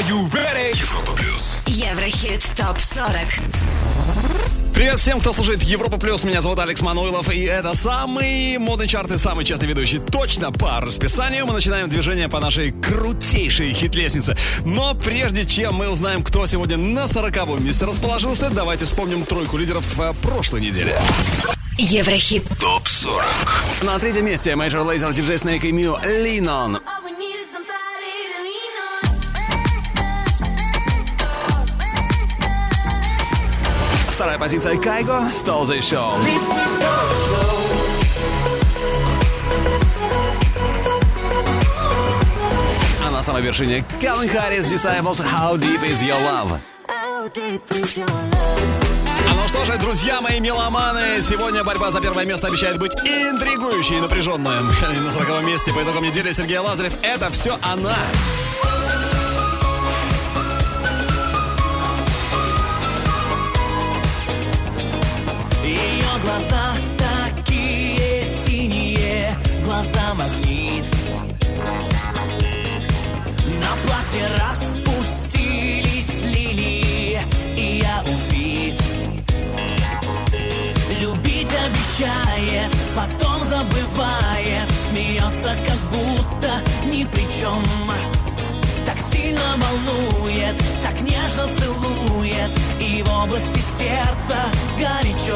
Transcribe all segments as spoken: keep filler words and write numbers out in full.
Are you ready? Европа плюс. Еврохит топ сорок. Привет всем, кто слушает Европа Плюс. Меня зовут Алекс Мануилов, и это самый модный чарт и самый честный ведущий. Точно по расписанию мы начинаем движение по нашей крутейшей хит-лестнице. Но прежде чем мы узнаем, кто сегодня на сороковом месте расположился, давайте вспомним тройку лидеров прошлой недели. Еврохит топ сорок. На третьем месте Major Lazer, диджей Snake и Mew, Lean On. Вторая позиция Кайго, Stole the Show. А на самой вершине Calvin Harris, Disciples, How Deep Is Your Love. А ну что же, друзья мои меломаны, сегодня борьба за первое место обещает быть интригующей и напряженной. На сороковом месте по итогам недели Сергей Лазарев. Это все она. Глаза такие синие, глаза магнит. На платье распустились лилии, и я убит. Любить обещает, потом забывает, смеется, как будто ни при чем. Так сильно волнует, так нежно целует, и в области сердца горячо.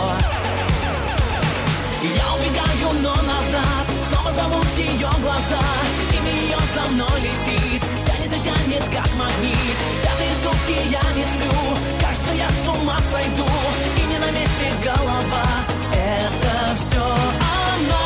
Я убегаю, но назад, снова зовут ее глаза. Имя ее за мной летит, тянет и тянет, как магнит. Пятые сутки я не сплю, кажется, я с ума сойду. И не на месте голова, это все она.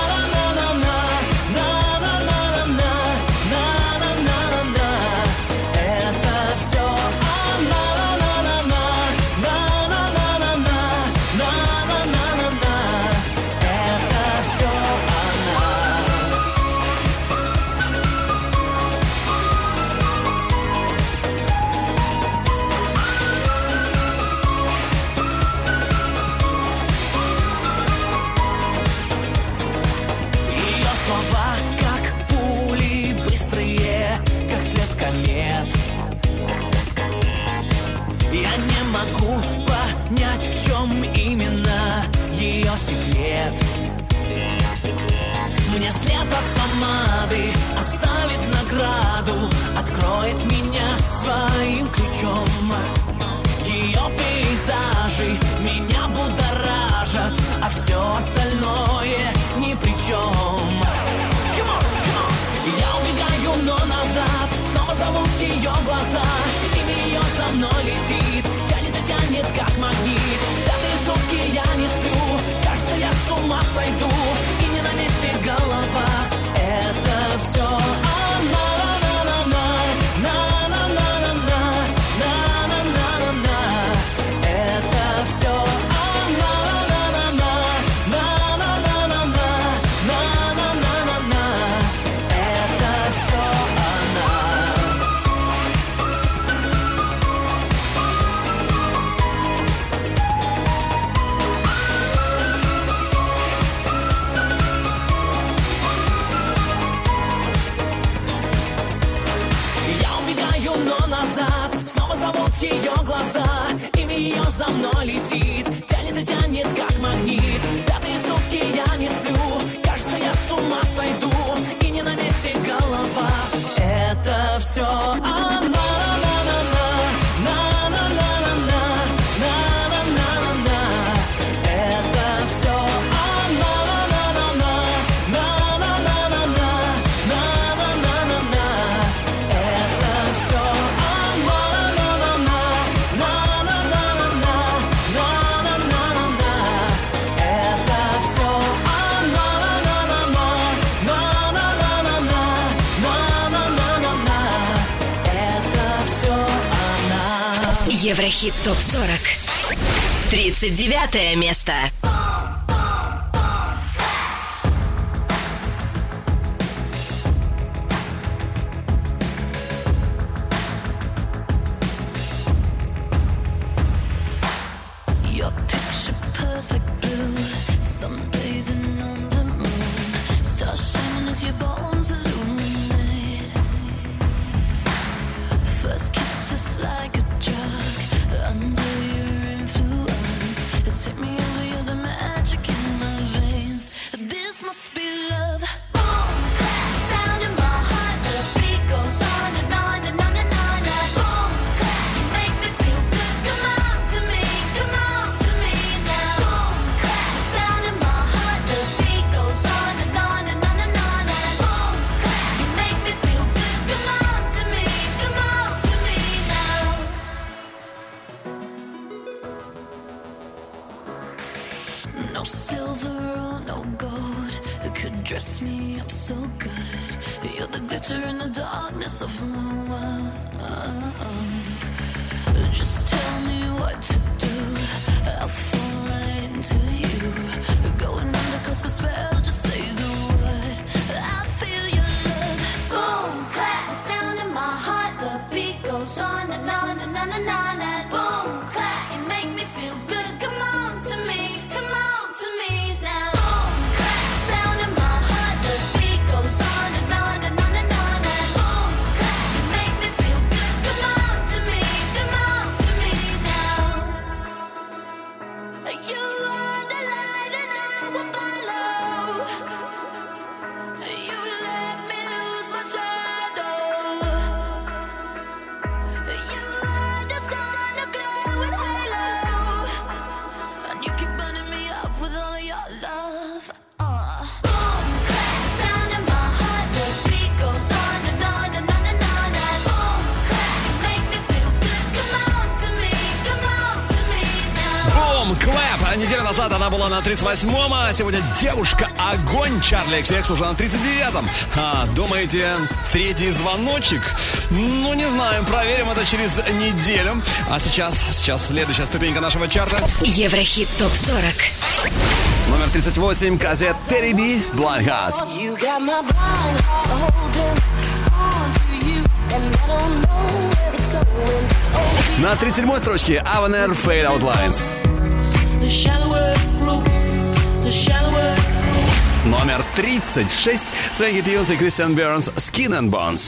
Понять, в чем именно ее секрет. Мне след от помады оставит в награду, откроет меня своим ключом. Ее пейзажи меня будоражат, а все остальное ни при чем. Come on, come on. Я убегаю, но назад, снова зовут ее глаза. Имя ее за мной летит, тянет, как магнит. Пятые сутки я не сплю, кажется, я с ума сойду. И не на месте голова, это все она. Это все она. Это все она. Ее глаза, имя ее за мной летит, тянет и тянет, как магнит. Пятые сутки я не сплю, кажется, я с ума сойду. И не на месте голова, это все она. Еврохит топ сорок. тридцать девятое место. First dress me up so good. You're the glitter in the darkness of my world. Just tell me what to do. I'll fall right into you. Going under 'cause I spell. Just say the word. I feel your love. Boom, clap, the sound in my heart. The beat goes on and on and on and on. And boom, clap, you make me feel good. Come on to me, come on to me now. Boom, clap, the sound in my heart. The beat goes on and on and on and on. And boom, clap, you make me feel good. Come on to me, come on to me now. You are the light and I will follow. You let me lose my shadow. You are the sun, a glow with halo. And you keep burning me up with all of your love. Uh. Boom, clap, sound in my heart. The beat goes on and on and on and on. And boom, clap, you make me feel good. Come on to me, come on to me now. Бум, клэп. Неделю назад она была на тридцать восьмом, а сегодня девушка огонь. Чарли икс икс уже на тридцать девятом. А, думаете, третий звоночек? Ну, не знаю, проверим это через неделю. А сейчас, сейчас следующая ступенька нашего чарта. Еврохит топ сорок. Номер тридцать восемь, Казет Терри Би, Blind Heart. You got my blind heart holding on to you, and I don't know where it's going. Oh, На тридцать седьмой строчке Авенер Fade Out Lines. the shallower it grows, the shallower. Номер тридцать шесть, Свенки Тьюз и Кристиан Бернс, Skin and Bones.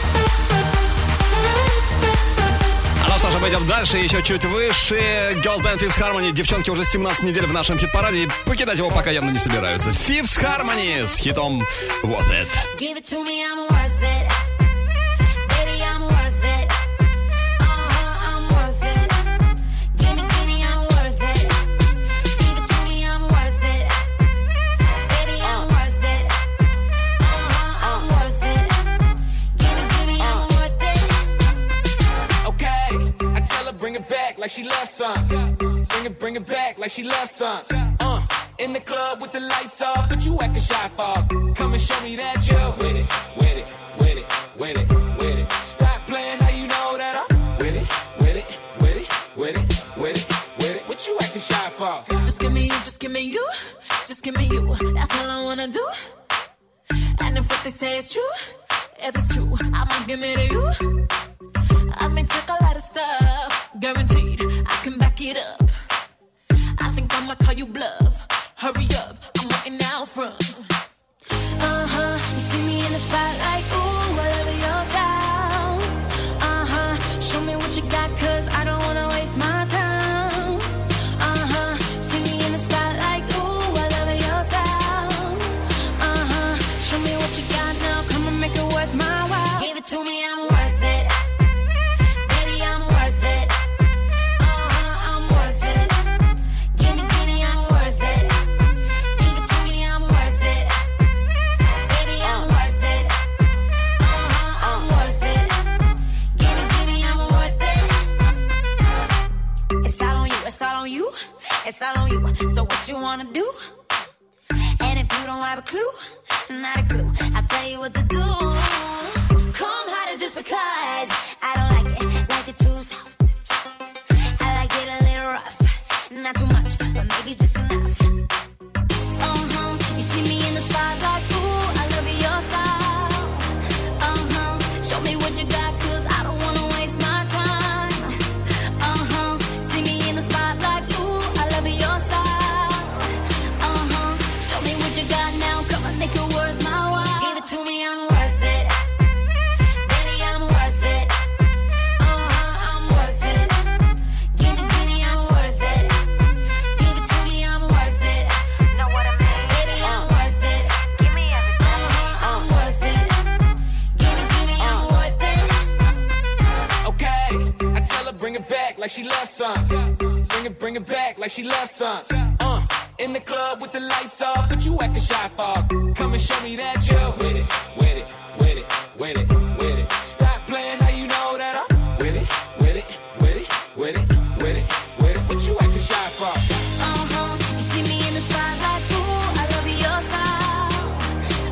А ну что же, пойдем дальше, еще чуть выше. Girls Band Fifth Harmony. Девчонки уже семнадцать недель в нашем хит-параде, и покидать его пока явно не собираются. Fifth Harmony с хитом Worth It. Give it to me, I'm worth it. Baby, I'm worth it. Uh-huh, I'm worth it. Give me, give me, I'm worth it. Give it to me, I'm worth it. Baby, I'm worth it. Uh-huh, I'm worth it. Give me, give me, I'm worth it. Okay, I tell her bring it back like she loves some. Bring it, bring it back like she loves some. Uh, in the club with the lights off, but you acting shy for. Come and show me that you're with it, with it, with it, with it, with it. Stop playing, how you know that I'm with it, with it, with it, with it, with it, with it. What you acting shy for? Just give me you, just give me you. Just give me you, that's all I wanna do. And if what they say is true, if it's true, I'ma give it to you. I may take a lot of stuff, guaranteed I can back it up. I think I'ma call you bluff. Hurry up, I'm waiting out front. Uh-huh, you see me in the spotlight, ooh, I love your style. Uh-huh, show me what you got, cause I don't wanna waste my time. Uh-huh, see me in the spotlight, ooh, I love your style. Uh-huh, show me what you got now, come and make it worth my while. Give it to me, I'm worth it. Baby, I'm worth it. Uh-huh, I'm worth it. Give me, give me, I'm worth it. Give it to me, I'm worth it. Baby, I'm worth it. Uh-huh, I'm worth it. Give me, give me, I'm worth it. It's all on you, it's all on you. It's all on you. So what you wanna do? And if you don't have a clue, not a clue, I'll tell you what to do. Come harder just because I don't like it, like it too soft. I like it a little rough, not too much, but maybe just enough. Uh-huh, you see me in the spotlight, ooh, I love your style. Uh-huh, show me what you got, cause I don't wanna waste my time. Uh-huh, see me in the spotlight, ooh, I love your style. Uh-huh, show me what you got now, come on, make it worth my while. Give it to me, I'm worth it. Baby, I'm worth it. Uh-huh, I'm worth it. Give me, give me, I'm worth it. Give it to me, I'm worth it. Know what I mean? Baby, I'm worth it. Give me everything. Uh-huh, I'm worth it. Give me, give me, I'm worth it. Okay, I tell her bring it back like she loves some. Bring it, bring it back like she loves some. Uh, in the club with the lights off, but you acting shy for. Come and show me that you're with it, with it, with it, with it, with it. Stop playing, how you know that I'm with it, with it, with it, with it, with it, with it. What you acting shy for? Uh-huh, you see me in the spotlight, ooh, I love your style.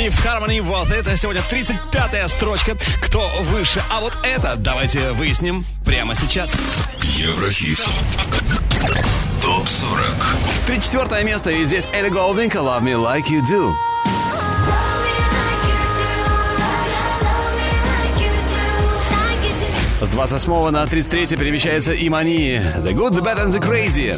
Fifth Harmony. Вот это сегодня тридцать пятая строчка. Кто выше? А вот это давайте выясним прямо сейчас. Еврохит. топ сорок. тридцать четвёртое место. И здесь Элли Голдинг. Love Me Like You Do. С двадцать восьмого на тридцать третье перемещается Имани. The Good, The Bad and The Crazy.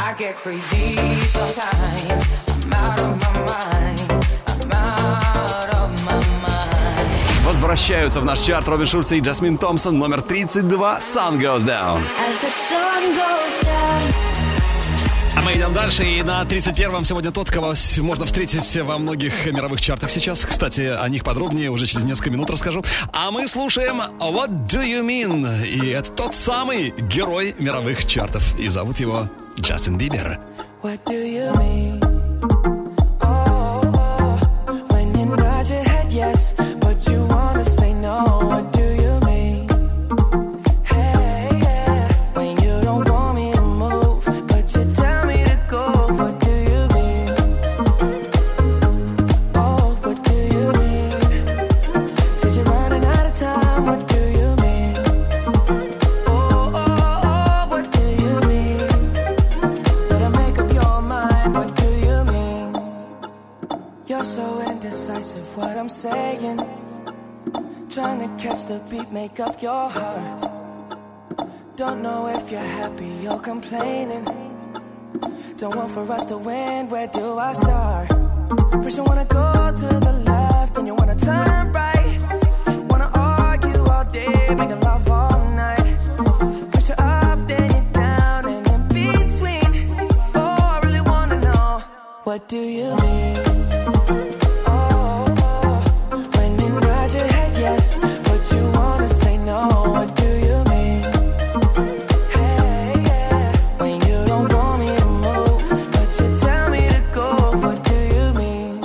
Возвращаются в наш чарт Робин Шульц и Джасмин Томпсон. Номер тридцать два. Sun Goes Down. А мы идем дальше, и на тридцать первом сегодня тот, кого можно встретить во многих мировых чартах сейчас. Кстати, о них подробнее уже через несколько минут расскажу. А мы слушаем What Do You Mean? И это тот самый герой мировых чартов. И зовут его Джастин Бибер. What do you mean? Oh, oh, when you nod your head yes, but you wanna say no. What do you mean? Hey, yeah, when you don't want me to move, but you tell me to go. What do you mean? Oh, what do you mean? Said you're running out of time. What do you mean? Oh, oh, oh, what do you mean? Better make up your mind. What do you mean? You're so indecisive. What I'm saying. Trying to catch the beat, make up your heart. Don't know if you're happy or complaining. Don't want for us to win, where do I start? First you wanna go to the left, then you wanna turn right. Wanna argue all day, making love all night. First you're up, then you're down, and in between. Oh, I really wanna know, what do you mean? Oh, oh, when you nod your head yes, but you wanna say no. What do you mean? Hey, yeah, when you don't want me to move, but you tell me to go. What do you mean?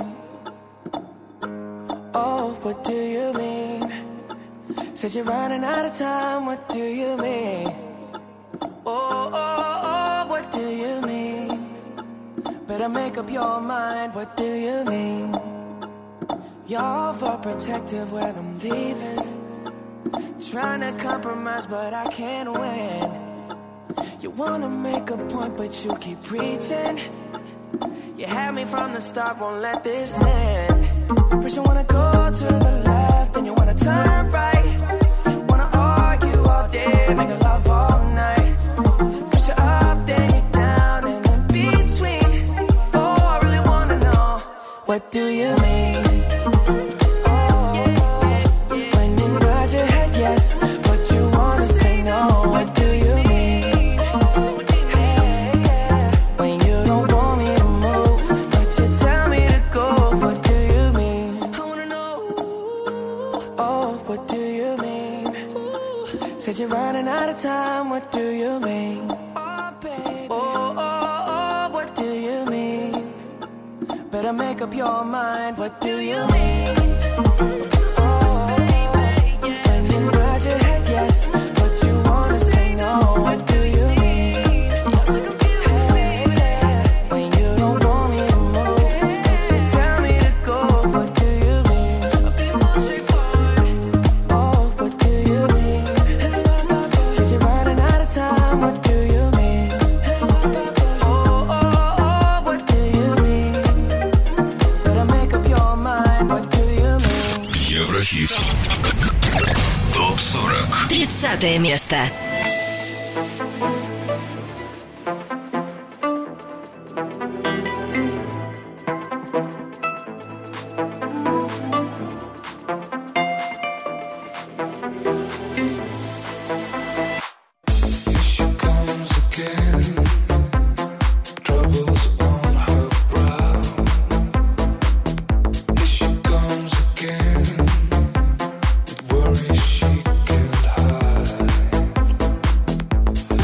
Oh, what do you mean? Said you're running out of time. What do you mean? Oh, oh, oh, what do you mean? Better make up your mind. What do you mean? You're overprotective when I'm leaving. Trying to compromise, but I can't win. You wanna make a point, but you keep preaching. You had me from the start, won't let this end. First you wanna go to the left, then you wanna turn right. Wanna argue all day, make love all night. First you're up, then you're down, and in between. Oh, I really wanna know, what do you mean? You're running out of time, what do you mean? Oh, baby. Oh, oh, oh, what do you mean? Better make up your mind, what do you mean? Oh, when you nod your head yes, but you wanna say no. What do you mean? You're so confused, baby. When you don't want me to move, but you tell me to go. What do you mean? I'll be more straightforward. Oh, what do you mean? What do you mean? Oh, oh, oh, what do you mean? Better make up your mind. What do you mean? Еврохит. топ сорок. тридцатое место. Worry she can't hide.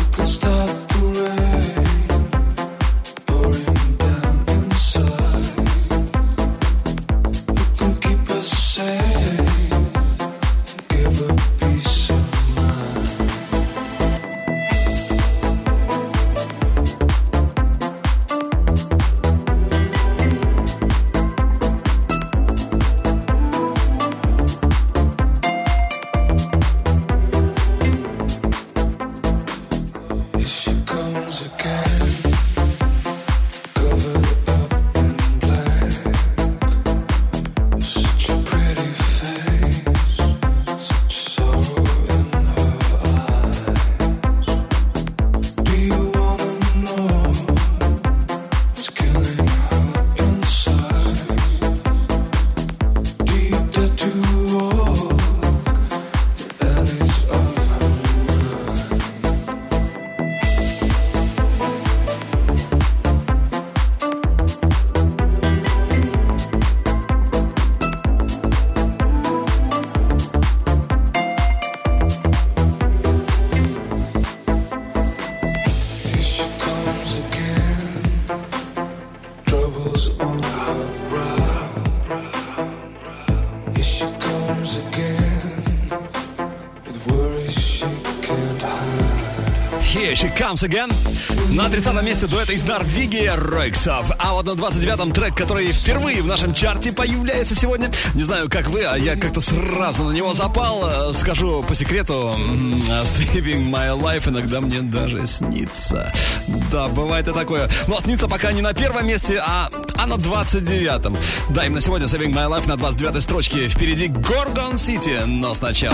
Here She Comes Again. На тридцатом месте дуэт из Норвегии Ройксов. А вот на двадцать девятом трек, который впервые в нашем чарте появляется сегодня. Не знаю, как вы, а я как-то сразу на него запал. Скажу по секрету, Saving My Life иногда мне даже снится. Да, бывает и такое. Но снится пока не на первом месте, а, а на двадцать девятом. Да, именно сегодня Saving My Life на двадцать девятой строчке. Впереди Gorgon City, но сначала...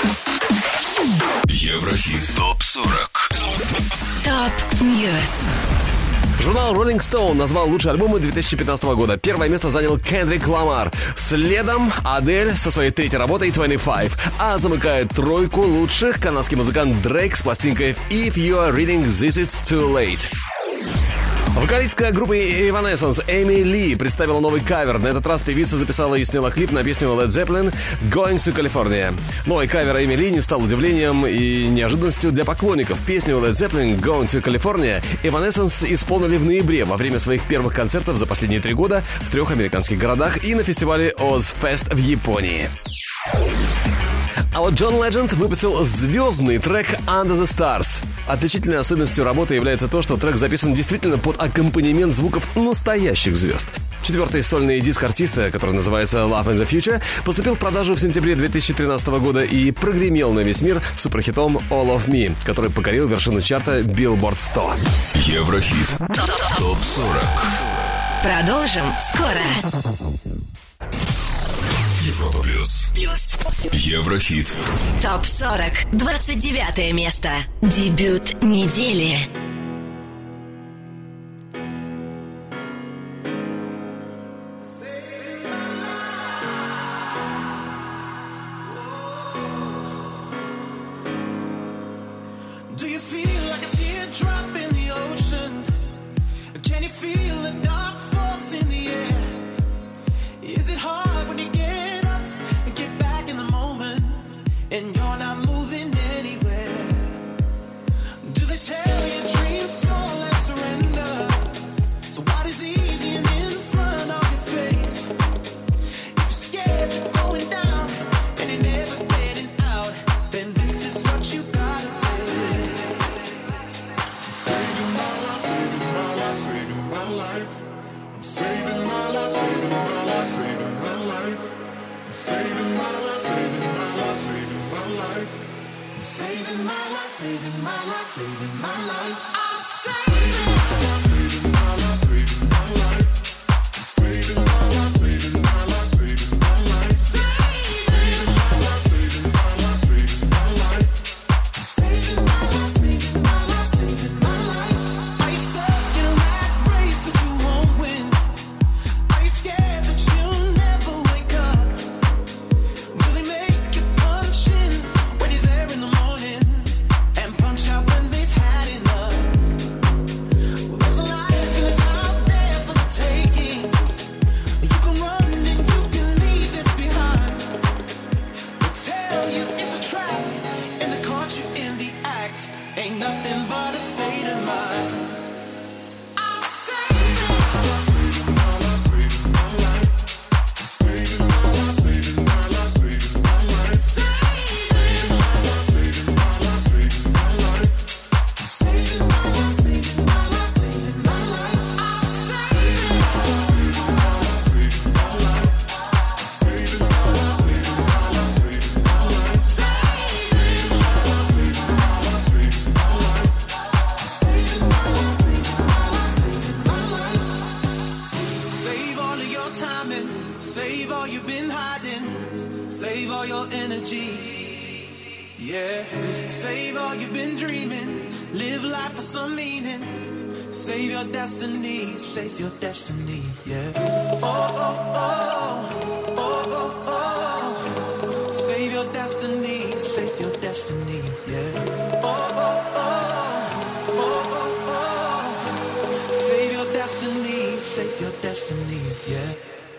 Еврохит топ сорок. Топ Ньюс. Журнал Rolling Stone назвал лучшие альбомы две тысячи пятнадцатого года. Первое место занял Кендрик Ламар. Следом Адель со своей третьей работой двадцать пять. А замыкает тройку лучших канадский музыкант Дрейк с пластинкой If You Are Reading This It's Too Late. Вокалистка группы Evanescence Эми Ли представила новый кавер. На этот раз певица записала и сняла клип на песню Led Zeppelin «Going to California». Новый кавер Эми Ли не стал удивлением и неожиданностью для поклонников. Песню Led Zeppelin «Going to California» Evanescence исполнили в ноябре во время своих первых концертов за последние три года в трех американских городах и на фестивале Ozfest в Японии. А вот Джон Ледженд выпустил звездный трек «Under the Stars». Отличительной особенностью работы является то, что трек записан действительно под аккомпанемент звуков настоящих звезд. Четвертый сольный диск артиста, который называется «Love in the Future», поступил в продажу в сентябре две тысячи тринадцатого года и прогремел на весь мир суперхитом «All of Me», который покорил вершину чарта Billboard сто. Еврохит топ сорок. Продолжим скоро. Европа плюс. Плюс. Еврохит. Топ сорок. двадцать девятое место. Дебют недели. Do you feel like a teardrop in the ocean? Can you feel a dark force in the air? Is it hard when you get up and get back in the moment and you're not moving anywhere? Do they tell you dreams small and surrender to what is easy and in front of your face? If you're scared you're going down and you're never getting out, then this is what you gotta say. Saving my life, saving my life, saving my life. I'm saving my life, saving my life, saving my life. I'm saving my life, saving my life, saving my life. I'm saving my life, saving my life, saving my life. I'm saving my life, saving my life, saving my life. I'm saving my life, saving my life, saving my life. Saving my life, saving my life, saving my life. I'm saving my life, saving my life, saving my life. Are you stuck in a rat race that you won't win? Are you scared that you'll never wake up? Will they make you punch in when you're there in the morning and punch out when they've had enough? Well, there's a life that's out there for the taking. You can run and you can leave this behind. They'll tell you it's a trap and they caught you in the act. Ain't nothing but a state of mind. I'm saving my life, Saving my life, saving my life. I'm saving my life, saving my life, saving my life. Saving my life, saving my life, saving my life. I'm saving my life, saving my life, saving my life. I'm saving my life, saving my life, saving my life. I'm saving my life, saving my life, saving my life. Saving my life, saving my life, saving my life. I'm saving my life, saving my life, saving my life. Save all of your time and save all you've been hiding. Save all your energy. Yeah. Save all you've been dreaming. Live life for some meaning. Save your destiny. Save your destiny. Yeah. Oh, oh, oh. Oh, oh, oh. Save your destiny. Save your destiny. Yeah. Oh, oh, oh. Oh, oh, oh. Save your destiny. Save your destiny. Yeah.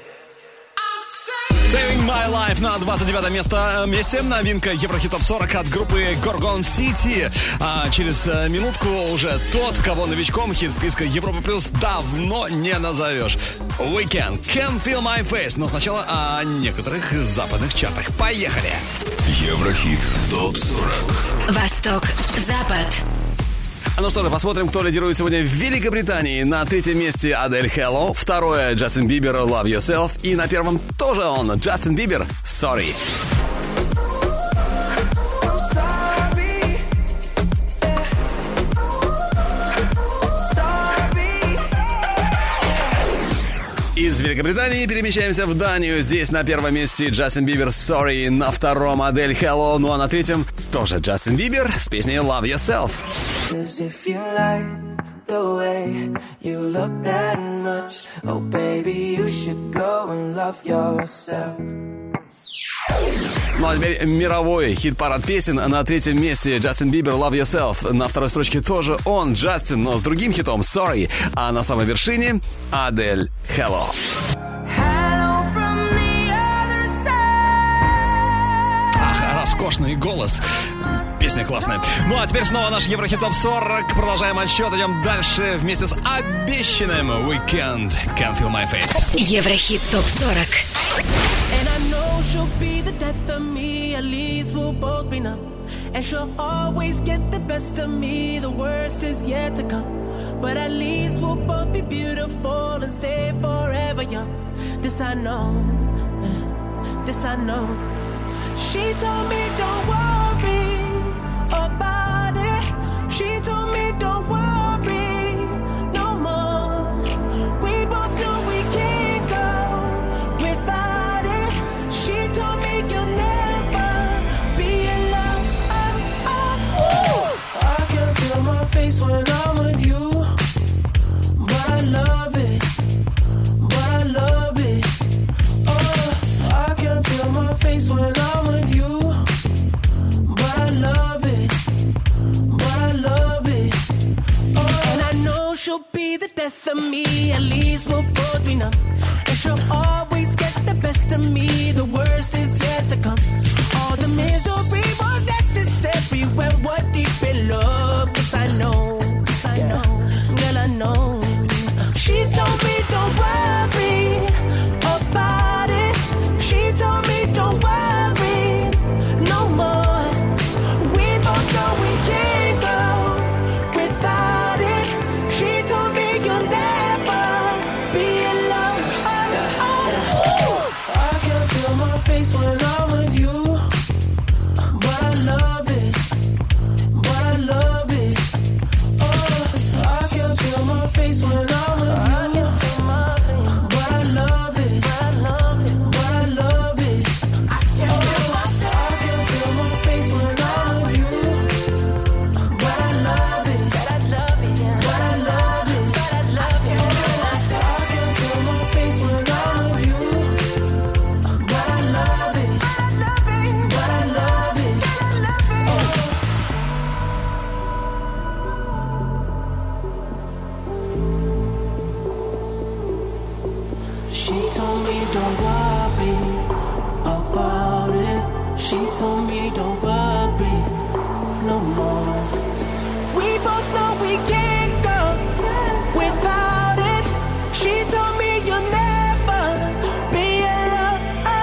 Saving My Life на двадцать девятом место, месте. Новинка Еврохит топ сорок от группы Gorgon City. А через минутку уже тот, кого новичком хит-списка Европа Плюс давно не назовешь. Weekend, Can't Feel My Face. Но сначала о некоторых западных чартах. Поехали! Еврохит топ сорок. Восток, Запад. А ну что же, посмотрим, кто лидирует сегодня в Великобритании. На третьем месте Адель Hello, второе Джастин Бибер Love Yourself и на первом тоже он, Джастин Бибер Sorry. Из Великобритании перемещаемся в Данию. Здесь на первом месте Джастин Бибер Sorry, на втором Адель Hello, ну а на третьем тоже Джастин Бибер с песней Love Yourself. Ну а теперь мировой хит-парад песен. На третьем месте Джастин Бибер Love Yourself. На второй строчке тоже он, Джастин, но с другим хитом Sorry. А на самой вершине Адель Hello. Ах, роскошный голос. Песня классная. Ну а теперь снова наш Еврохит Топ сорок. Продолжаем отсчет. Идем дальше вместе с обещанным Weekend Can't Feel My Face. Еврохит Топ сорок. And I know she'll be the death of me. At least we'll both be numb. And she'll always get the best of me. The worst is yet to come. But at least we'll both be beautiful and stay forever young. This I know. This I know. She told me don't worry about it. She told me don't worry no more. We both know we can't go without it. She told me you'll never be alone. I can feel my face when I'm with you, but I love it, but I love it. Oh, I can feel my face when I'm with you, but I love it, but I love it. Oh, and I know she'll be the death of me. At least we'll both be numb. And she'll always get the best of me. The worst is yet to come. All the misery was necessary when we're deep in love. Yes, I know, yes, I know, girl, I know. She told me don't worry about it. She told me don't worry no more. We both know we can't go without it. She told me you'll never be alone. I can feel my face when I'm with you, but I love it, but I love it. Oh, I can feel my face when I'm with you, but I love it, but I love it, but I love it. I can feel my face when I'm with you, but I love it, but I love it, but I love it, but I love it. I can feel my face when I'm with you, but I love it, but I love it, but I love it. She told me don't worry about it. She told me don't worry no more. We both know we can't go without it. She told me you'll never be alone.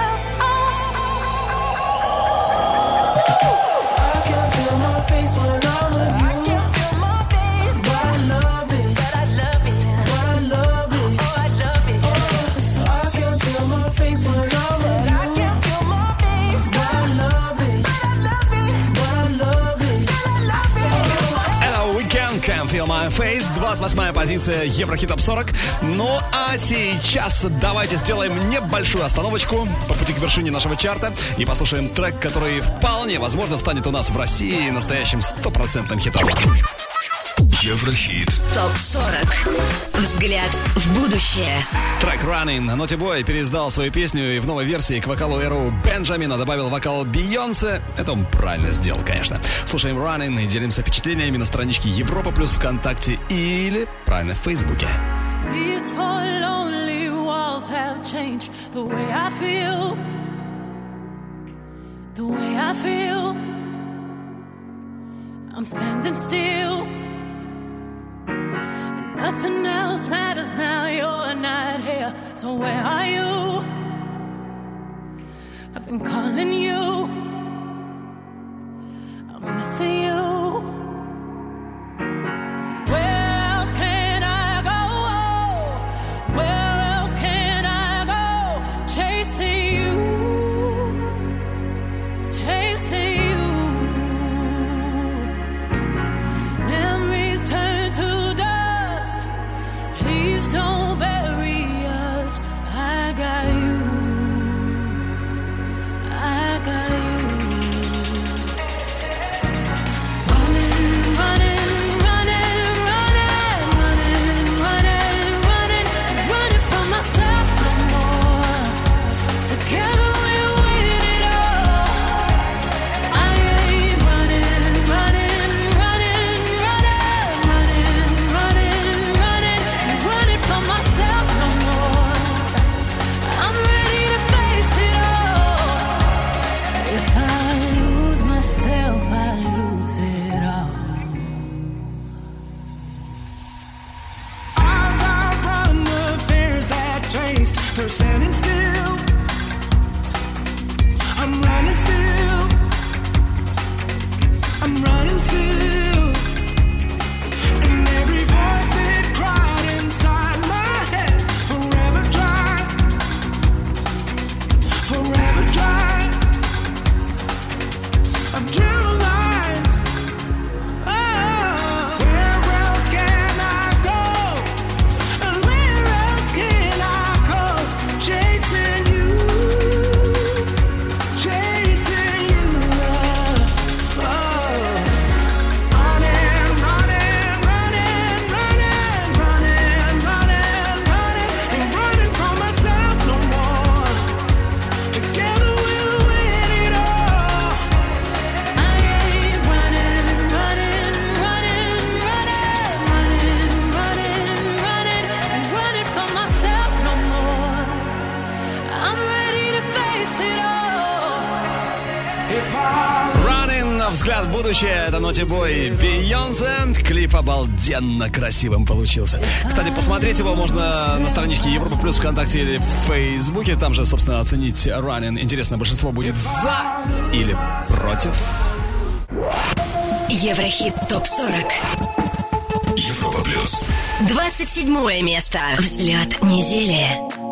I can feel my face when I'm with you. I can feel my face, but I love it, but I love it, but I love it. Oh, I love it. I can feel my face when I'm with you. I can feel my face, but I love it, but I love it, but I love it, but I love it. Это Weekend Can't Feel My Face, двадцать восьмая позиция Еврохит Топ сорок. Ну а сейчас давайте сделаем небольшую остановочку по пути к вершине нашего чарта и послушаем трек, который вполне возможно станет у нас в России настоящим стопроцентным хитом. Еврохит. Топ сорок. Взгляд в будущее. Трек Running. Naughty Boy переиздал свою песню и в новой версии к вокалу Эру Бенджамина добавил вокал Бейонсе. Это он правильно сделал, конечно. Слушаем Running и делимся впечатлениями на страничке Европа Плюс ВКонтакте или правильно в Фейсбуке. These four lonely walls have changed the way I feel. The way I feel. I'm standing still. And nothing else matters now. You're not here. So where are you? I've been calling you. I'm missing you. running still. And every voice that cried inside my head, forever dry, forever dry. I've dreamt of lines. Oh, where else can I go? And where else can I go? Chasing you, chasing you. Oh, running, running, running, running, running, running, running, ain't running from myself no more. Together we'll win it all. I ain't running, running, running, running, running, running, running, and running from myself no more. I'm ready to face it all. If I Running, взгляд в будущее, это Naughty Boy, Бейонсе. Клип обалденно красивым получился. Кстати, посмотреть его можно на страничке Европа Плюс ВКонтакте или в Фейсбуке. Там же, собственно, оценить Running. Интересно, большинство будет за или против. Еврохит топ сорок. Европа плюс. двадцать седьмое место. Взгляд недели.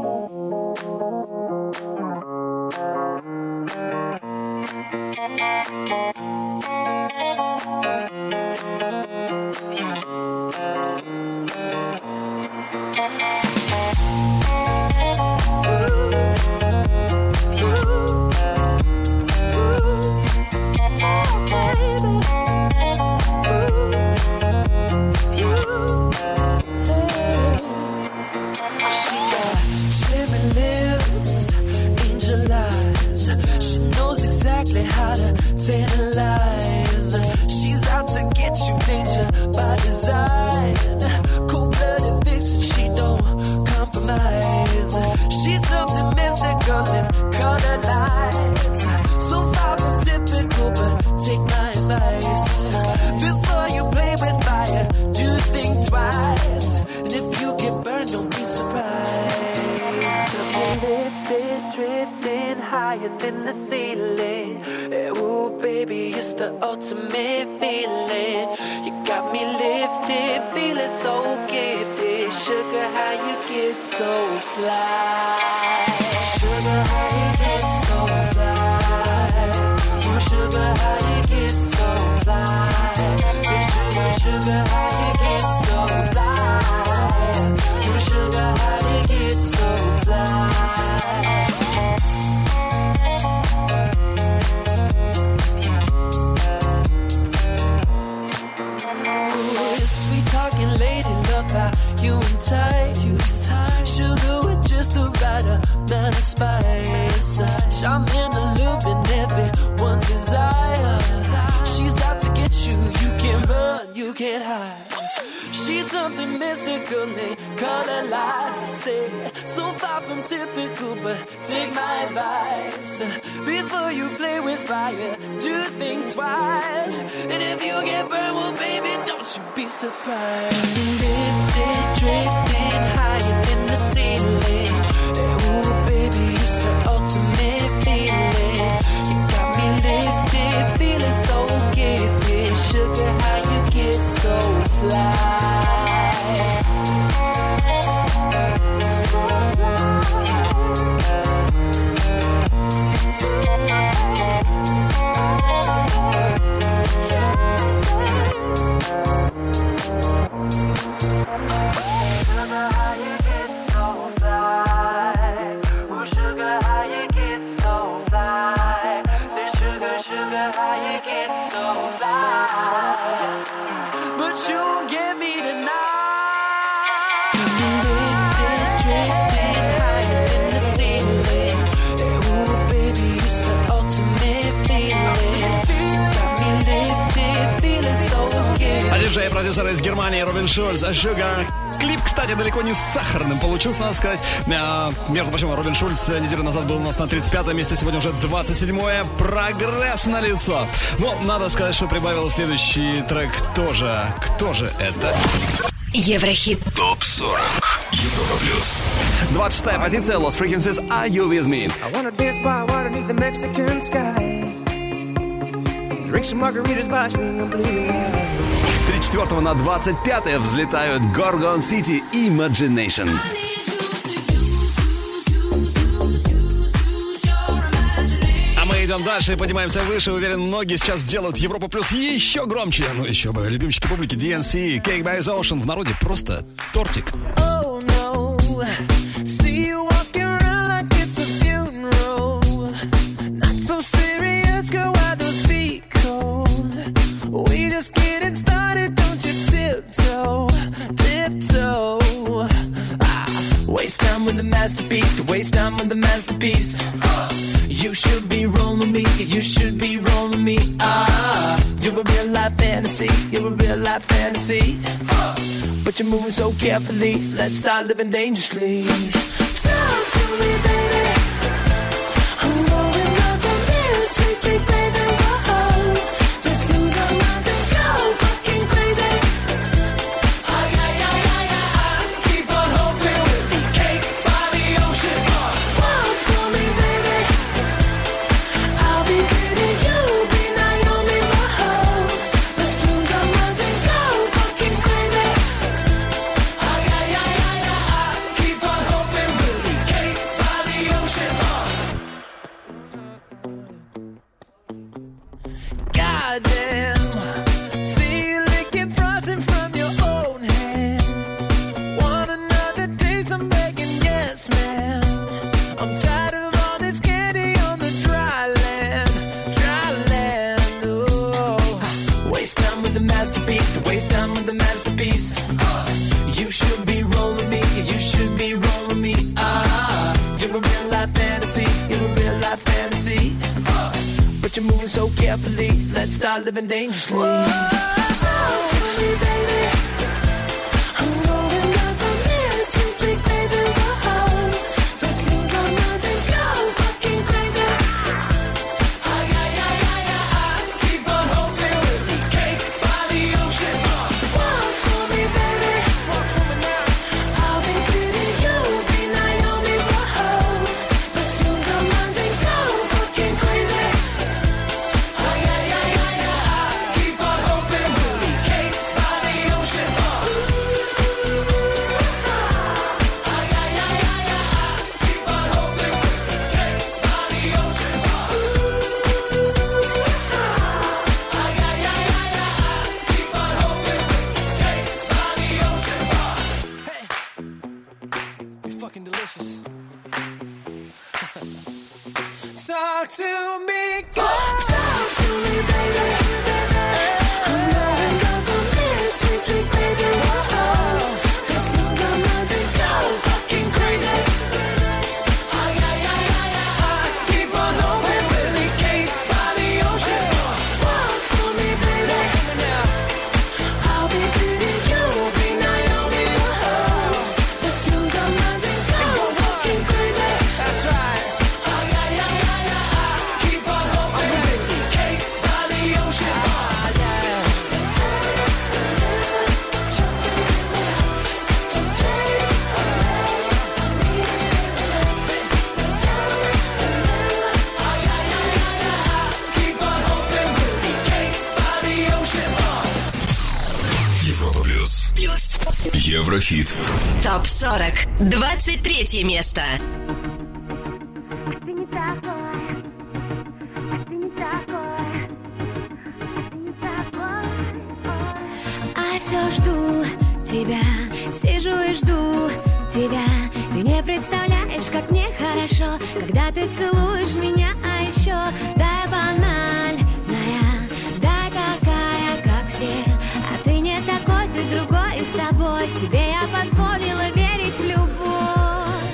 She got cherry lips, angel eyes. She knows exactly how to tantalize. She's out to get you, danger by design. Cold-blooded vixen, she don't compromise. She's something mystical in color lights. So far from typical, but take my advice. Before you play with fire, do think twice. And if you get burned, don't be surprised. Lifted, drifting higher than the ceiling. Ooh, baby, it's the ultimate feeling. You got me lifted, feeling so gifted. Sugar, how you get so fly? Sugar, how you get so fly? Ooh, sugar, how you get so fly? Hey, sugar, sugar, how you get so fly? Ooh, sugar, how you get so fly? Ooh, sweet talking lady, love how you entice. Sugar with just the right amount of spice. Charming, alluring, everyone's desire. She's out to get you, you can't run, you can't hide. She's something mystical, they color lights. I say, so far from typical, but take my advice. Before you play with fire, do think twice. And if you get burned, well, baby, don't you be surprised. Lifted, drifting higher than the ceiling. Ooh, baby, it's the ultimate feeling. You got me lifted, feeling so gifted. Sugar, how you get so fly? But you won't get me tonight. Lifted, drifting higher than the ceiling. Ooh, baby, it's the ultimate feeling. You got me lifted, feeling so good. А диджей и продюсер из Германии Робин Шульц, Sugar. Клип, кстати, далеко не сахарным получился, надо сказать. А, между прочим, Робин Шульц неделю назад был у нас на тридцать пятом месте, сегодня уже двадцать седьмое. Прогресс налицо. Но надо сказать, что прибавил следующий трек тоже. Кто же это? Еврохит. топ сорок. Европа плюс. двадцать шестая позиция. Lost Frequencies. Are You With Me? I wanna dance by water beneath the Mexican sky. Drink some margaritas, watch me, I'm bleeding out. С тридцать четвёртого на двадцать пятое взлетают Gorgon City Imagination. А мы идем дальше и поднимаемся выше. Уверен, многие сейчас сделают Европа Плюс еще громче. Ну еще бы, любимчики публики ди эн си, Cake by the Ocean. В народе просто тортик. Oh no, see you walking around like it's a funeral. Not so serious, girl, why those feet cold? We just getting started, don't you tiptoe, tiptoe. Ah, waste time with the masterpiece, to waste time with the masterpiece. You should be rolling me, you should be rolling me. Ah, you're a real life fantasy, you're a real life fantasy. But you're moving so carefully, let's start living dangerously. Talk to me, baby. I'm going up on this sweet, sweet baby. Whoa, let's lose our minds and go fucking crazy. Ay, ay, ay, ay, ay, keep on hoping we'll be cake by the ocean. Walk for me, baby. I'll be pretty, you'll be Naomi. Whoa, let's lose our minds and go fucking crazy. Ay, ay, ay, ay, ay, keep on hoping we'll be cake by the ocean. Goddamn, see you licking frosting from your own hands. Want another taste? I'm begging, yes, ma'am. I'm tired of all this candy on the dry land, dry land. Oh, waste time with the masterpiece, to waste time with the masterpiece. You should be rolling me, you should be rolling me. Ah, you're a real life fantasy, you're a real life fantasy. But you're moving so carefully, let's start living dangerously. Talk to me, baby. I'm going up on this sweet, sweet baby. Whoa, let's lose our minds and go fucking crazy. Ay, ay, ay, ay, ay, keep on hoping we'll be cake by the ocean. Walk for me, baby. Walk for me now. I'll be pretty, you'll be Naomi. Whoa, let's lose our minds and go fucking crazy. Ay, ay, ay, ay, ay, keep on hoping we'll be cake by the ocean. Ay, ay, ay, ay, ay, keep on hoping we'll be cake by the ocean. Ay, ay, ay, ay, ay, keep on hoping we'll be cake by the ocean. Hey, you're fucking delicious. Talk to me, girl. Talk to me, baby. I'm going up on this sweet, sweet baby. Whoa, let's lose our minds and go fucking crazy. Ay, ay, ay, ay, ay, keep on hoping we'll be cake by the ocean. Walk for me, baby. I'll be pretty, you'll be Naomi. Whoa, let's lose our minds and go fucking crazy. That's right. Ay, ay, ay, ay, ay, keep on hoping we'll be cake by the ocean. Ah, yeah. Keep on hoping we'll be cake by the ocean. Европа Плюс. Еврохит. ТОП сорок. двадцать третье место. Ты не такой, ты не такой, ты не такой. А все жду тебя, сижу и жду тебя. Ты не представляешь, как мне хорошо, когда ты целуешь меня, а еще дай банальная, дай такая, как все. А ты не такой, ты другой, и с тобой себе я позволила верить в любовь.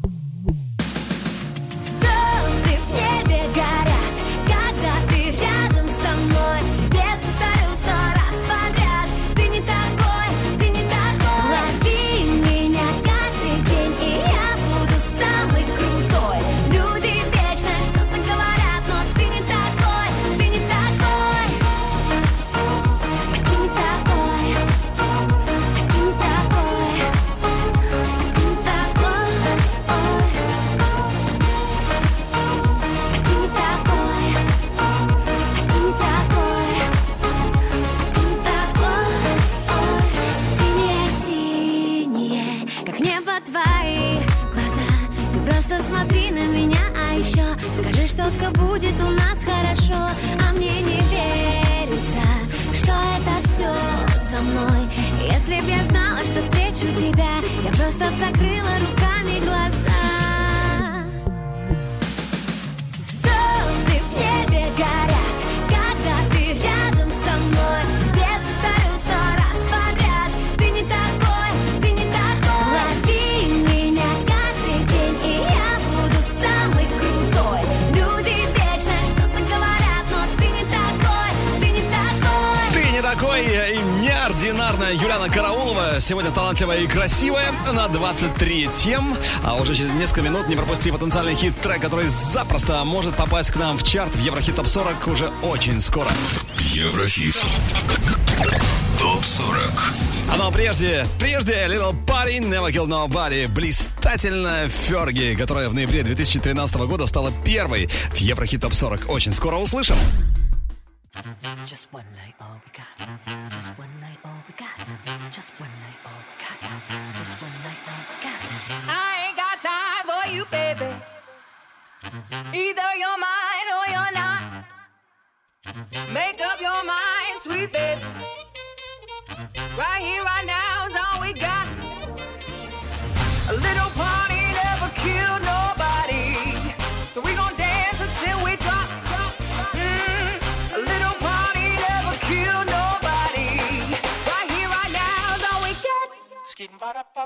Звезды в небе горят, когда ты рядом со мной. Тебе повторю сто раз подряд. Ты не такой, ты не такой. Лови меня каждый день, и я буду самый крутой. Люди вечно что-то говорят, но ты не такой, мной. Если б я знала, что встречу тебя, я просто б закрыла руками глаза. Звезды в небе горят, когда ты рядом со мной. Тебе повторю сто раз подряд: ты не такой, ты не такой. Лови меня каждый день, и я буду самый крутой. Люди вечно что-то говорят, но ты не такой, ты не такой. Ты не такой и неординарная Юлиана Караулова. Сегодня талантливая и красивая на двадцать третьем. А уже через несколько минут не пропусти потенциальный хит-трек, который запросто может попасть к нам в чарт в Еврохит Топ сорок уже очень скоро. Еврохит Топ сорок. А ну а прежде, прежде Little Party, Never Kill Nobody. Блистательная Ферги, которая в ноябре две тысячи тринадцатого года стала первой в Еврохит Топ сорок. Очень скоро услышим. Just one night, all we got. Just one night, all we got. Just one night, all we got. Just one night, all we got. I ain't got time for you, baby. Either you're mine or you're not. Make up your mind, sweet baby. Right here, right now is all we got. A little party never killed nobody, so we gon' dance until we drop. Mm, a little party never killed nobody. Right here, right now is all we got. Skittin' ba-da-ba.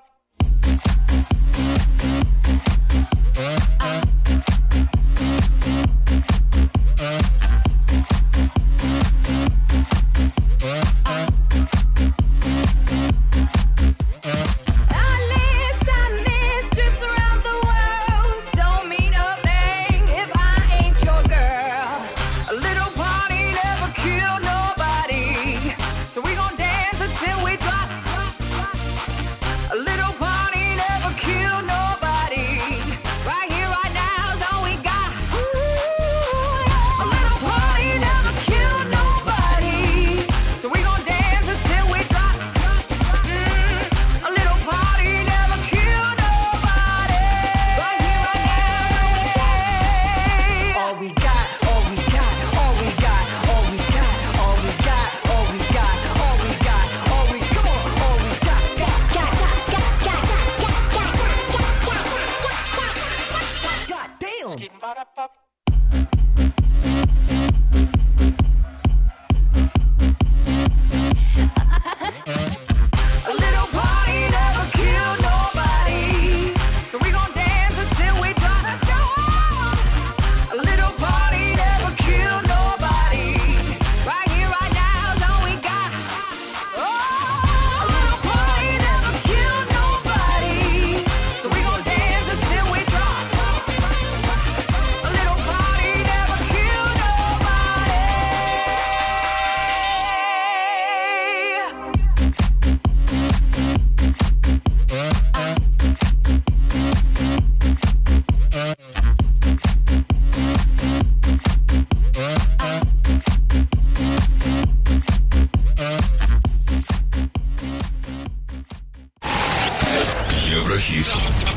Еврохит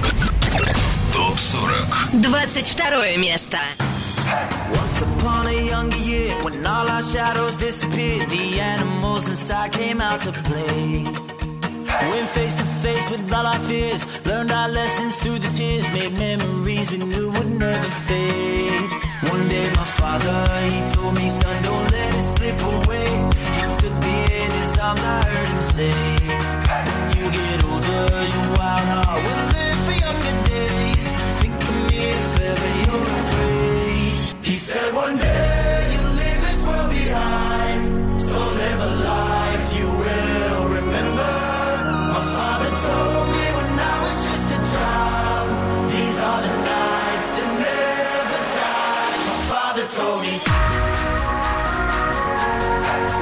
Топ сорок. двадцать второе место. Once upon a younger year, when all our shadows disappeared, the animals inside came out to play. Went face to face with all our fears, learned our lessons through the tears, made memories we knew would never fade. One day my father, he told me, son, don't let it slip away. He took me in his arms, I heard him say, when you get older, your wild heart will live for younger days. Think of me if ever you're afraid. He said one day you'll leave this world behind, so live a life you will remember. My father told me when I was just a child, these are the nights that never die. My father told me.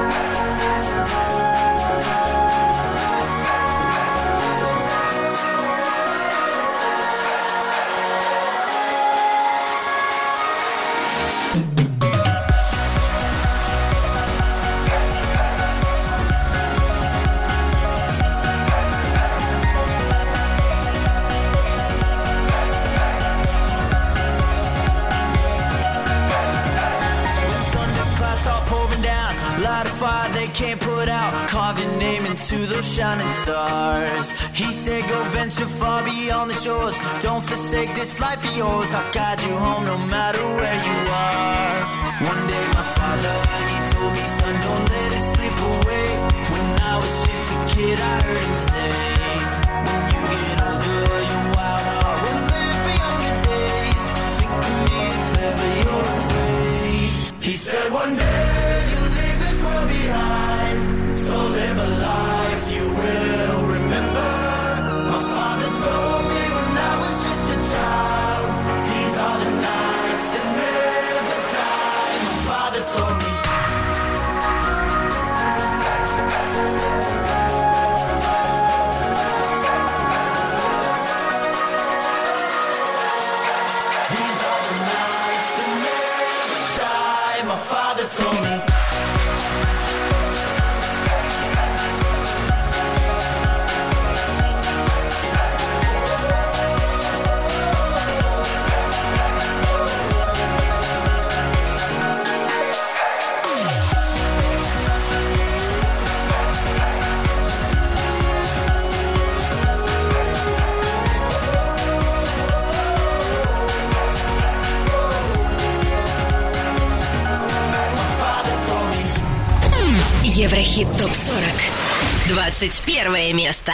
I'll carve your name into those shining stars. He said go venture far beyond the shores. Don't forsake this life of yours. I'll guide you home no matter where you are. One day my father, he told me, son, don't let it slip away. When I was just a kid, I heard him say, when you get older, your wild heart will live for younger days. Think of me if ever you're afraid. He said one day you'll leave this world behind, so live a life you will remember. My father told me when I was just a child, these are the nights that never die. My father told me. These are the nights that never die. My father told me. Еврохит топ сорок. двадцать первое место.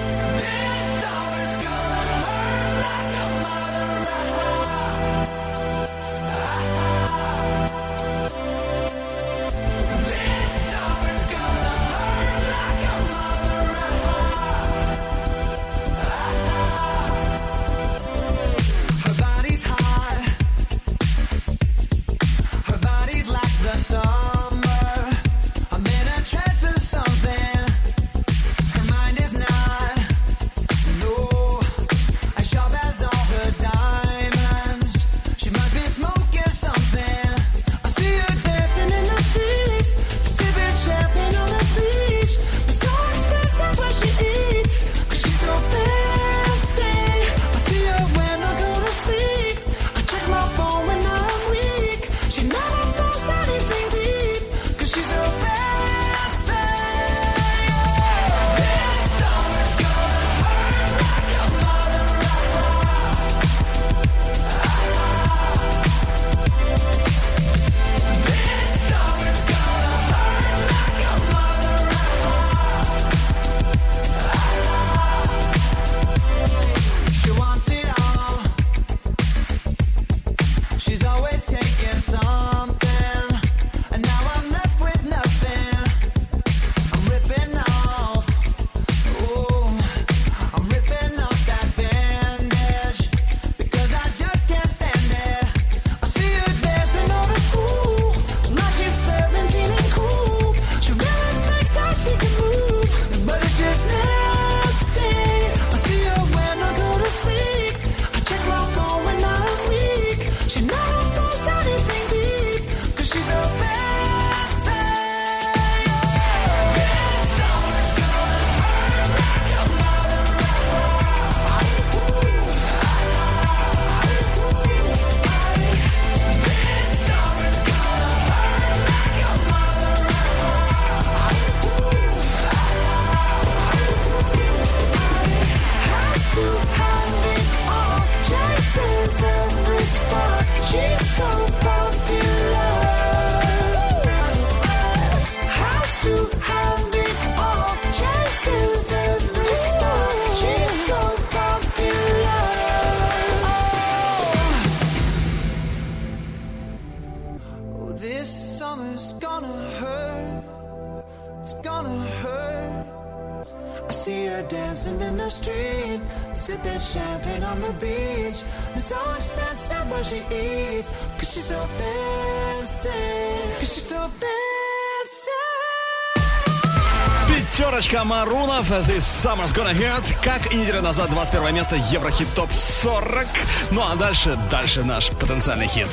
Пятерочка Марунов, This Summer's Gonna Hurt. Как и неделю назад, двадцать первое место, Еврохит топ сорок. Ну а дальше, дальше наш потенциальный хит.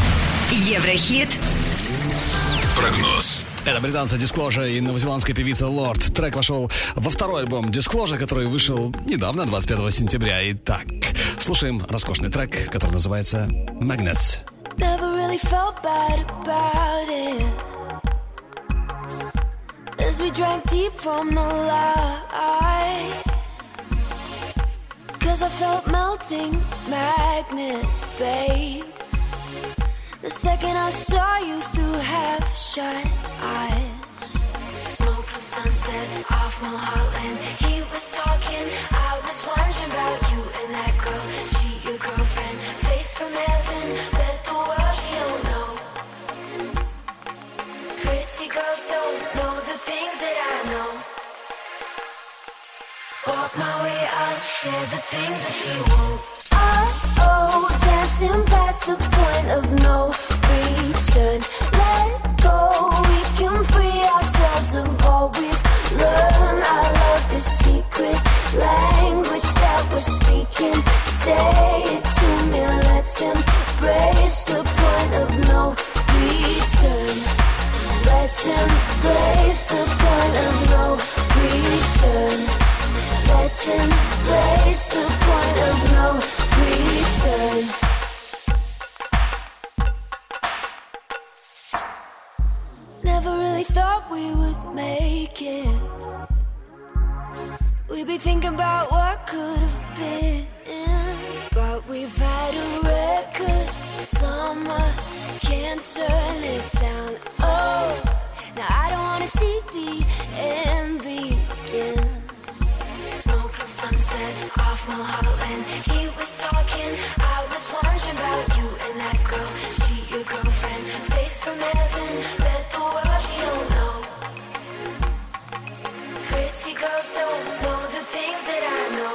Еврохит. Прогноз. Это британцы Disclosure и новозеландская певица Lorde. Трек вошел во второй альбом Disclosure, который вышел недавно, двадцать пятого сентября. Итак, слушаем роскошный трек, который называется Magnets. Never really felt bad about it. There's As we drank deep from the light, 'cause I felt melting magnets, babe. The second I saw you through half-shut eyes. Smoking sunset off Mulholland. He was talking, I was wondering about you and that girl. She your girlfriend, face from heaven, bet the world she don't know. Pretty girls don't know the things that I know. Walk my way, I'll share the things that you won't. Oh, dancing past the point of no return. Let go, we can free ourselves of all we've learned. I love the secret language that we're speaking. Say it to me, let's embrace the point of no return. Let's embrace the point of no return. Let's embrace the point of no return. Never really thought we would make it. We'd be thinking about what could have been, but we've had a record summer, can't turn it down. Oh, now I don't wanna see the end begin. Smoking sunset off Mulholland. He was talking, I was wondering about you and that girl. She your girlfriend, face from heaven, bet the world she don't know. Pretty girls don't know the things that I know.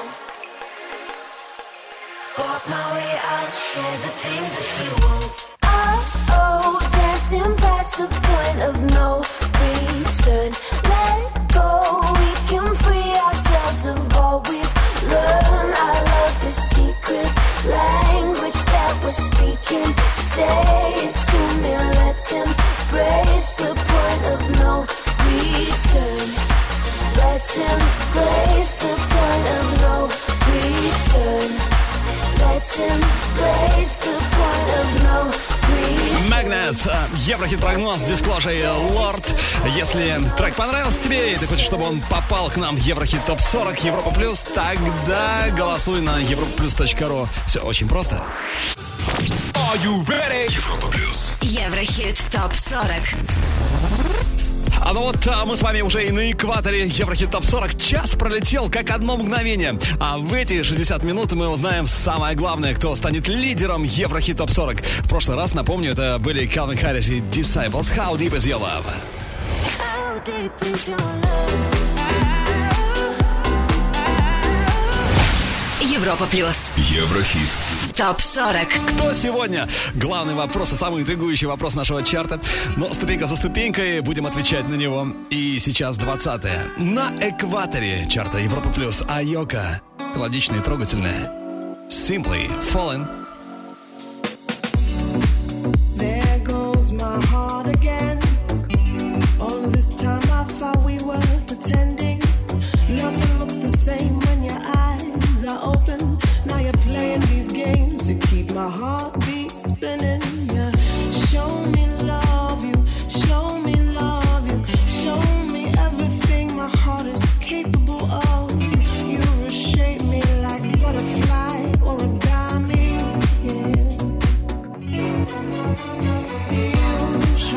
Walk my way, I'll share the things that you won't. Oh, dancing past the point of no return. Let go, we can free ourselves of all we've learned. I love the secret language that we're speaking. Say it to me, let's embrace the point of no return. Let's embrace the point of no return. Let's embrace the point of no return. Magnets, Еврохит-прогноз, Disclosure и Lord. Если трек понравился тебе и ты хочешь, чтобы он попал к нам в Еврохит топ сорок Европа Плюс, тогда голосуй на европа плюс точка ру. Все очень просто. Are you ready? Европа Плюс. Еврохит топ сорок. А ну вот а, мы с вами уже и на экваторе Еврохит топ сорок. Час пролетел как одно мгновение. А в эти шестьдесят минут мы узнаем самое главное, кто станет лидером Еврохит топ сорок. В прошлый раз, напомню, это были Calvin Harris и Disciples. How deep is your love? How deep is your love? Европа Плюс. Еврохит. топ сорок. Кто сегодня? Главный вопрос и самый интригующий вопрос нашего чарта. Но ступенька за ступенькой будем отвечать на него. И сейчас двадцатое. На экваторе чарта Европа Плюс. Айока. Мелодичная и трогательная. Simply Fallen. There goes my heart again. All this time I thought we were pretending. Nothing looks the same when your eyes are open. Now you're playing these games to keep my heartbeat spinning. Yeah. Show me love you, show me love you, show me everything my heart is capable of. You reshape me like butterfly or a origami. Yeah. You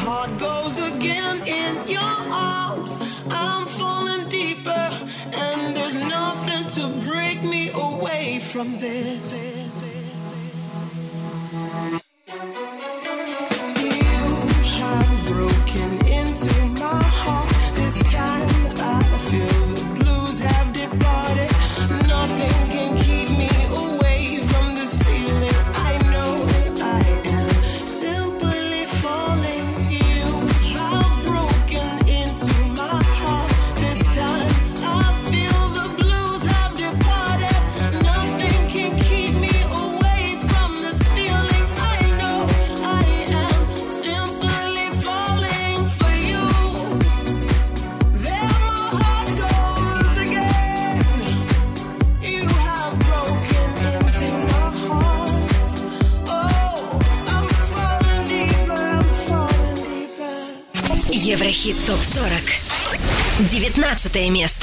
heart goes again in your arms. I'm falling deeper, and there's nothing to break me away from this. Еврохит топ сорок. девятнадцатое место.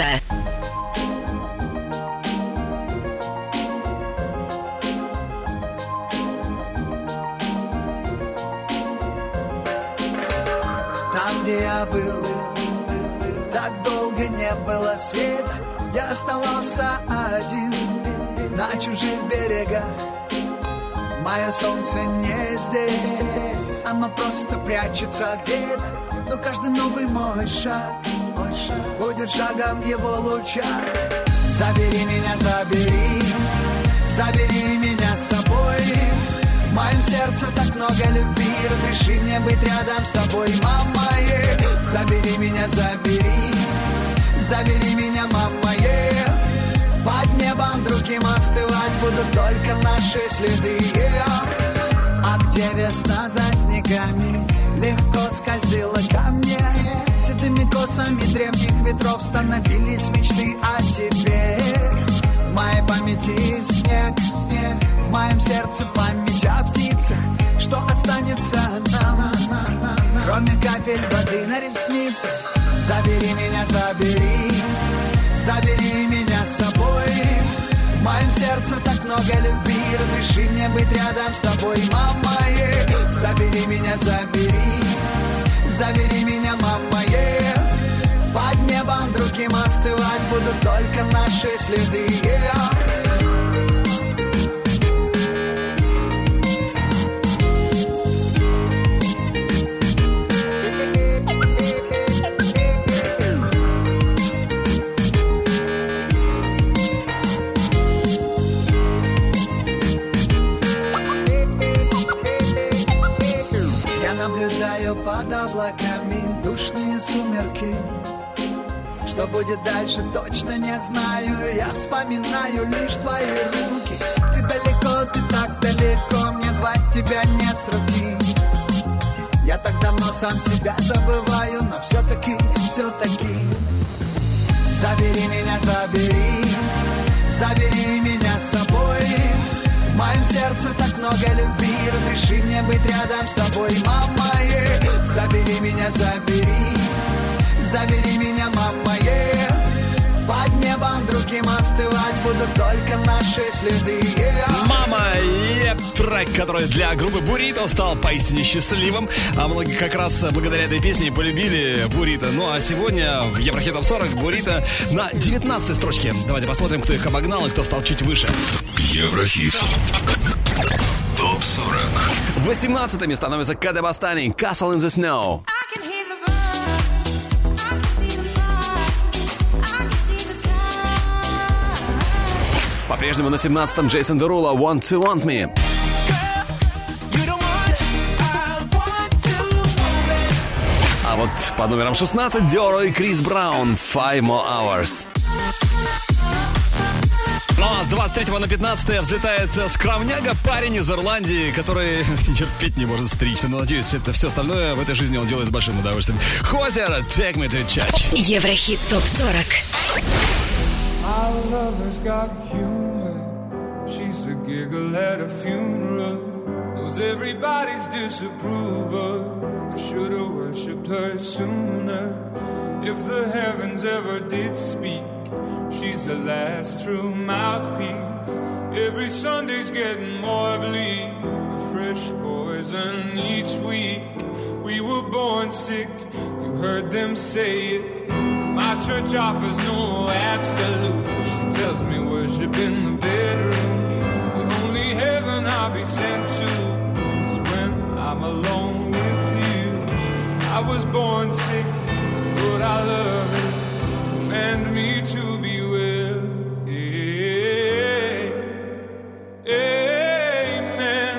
Там, где я был, так долго не было света. Я оставался один на чужих берегах. Мое солнце не здесь, оно просто прячется где-то. Но каждый новый мой шаг, мой шаг будет шагом в его лучах. Забери меня, забери, забери меня с собой. В моем сердце так много любви, разреши мне быть рядом с тобой, мама. Yeah. Забери меня, забери, забери меня, мама. Yeah. Под небом другим остывать будут только наши следы. Yeah. А где весна за снегами легко скользила ко мне, седыми косами древних ветров становились мечты о тебе. В моей памяти снег, снег, в моем сердце память о птицах. Что останется нам, кроме капель воды на ресницах? Забери меня, забери, забери меня с собой. В моем сердце так много любви, разреши мне быть рядом с тобой, мама. Yeah. Забери меня, забери, забери меня, мама. Yeah. Под небом другим остывать будут только наши следы. Yeah. Наблюдаю под облаками душные сумерки. Что будет дальше, точно не знаю. Я вспоминаю лишь твои руки. Ты далеко, ты так далеко, мне звать тебя не с руки. Я так давно сам себя забываю, но все-таки, все-таки забери меня, забери, забери меня с собой. В моем сердце так много любви, разреши мне быть рядом с тобой, мама. Yeah. Забери меня, забери, забери меня, мама. Yeah. Под небом другим остывать будут только наши следы. Yeah. Мама, и трек, который для группы Бурито стал поистине счастливым. А многие как раз благодаря этой песне полюбили Бурито. Ну а сегодня в Еврохит топ сорок Бурито на девятнадцатой строчке. Давайте посмотрим, кто их обогнал и кто стал чуть выше. Еврохит топ сорок. восемнадцатое место становится Каде Бастани, Castle in the Snow. По-прежнему на семнадцатом Джейсон Дерула, Want to Want Me. А вот по номерам шестнадцать Диоро и Крис Браун, Five More Hours. Ну а с двадцать третьего на пятнадцатое взлетает скромняга, парень из Ирландии, который терпеть не может стричься. Но надеюсь, это все остальное в этой жизни он делает с большим удовольствием. Хозер, Take Me to Church. Еврохит топ сорок. Our lover's got humor. She's the giggle at a funeral. Knows everybody's disapproval. I should have worshipped her sooner. If the heavens ever did speak, she's the last true mouthpiece. Every Sunday's getting more bleak. The fresh poison and each week we were born sick. You heard them say it. My church offers no absolutes. She tells me worship in the bedroom. The only heaven I'll be sent to is when I'm alone with you. I was born sick, but I love it. Command me to be well. Yeah. Amen.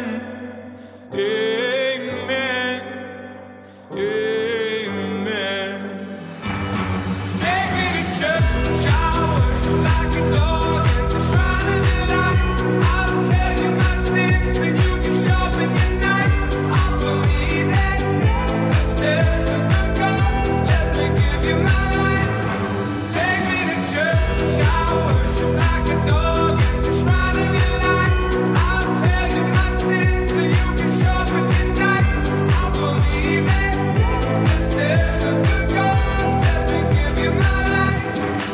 Amen. Amen. Take me to church, I worship like a dog at the shrine of your light. I'll tell you my sins and you can sharpen your knife. Offer me that instead of the God. Let me give you my life. Take me to church, I worship like a dog at the shrine of your light. I'll tell you my sins and you can sharpen your knife. Offer me that instead of the God. Let me give you my life.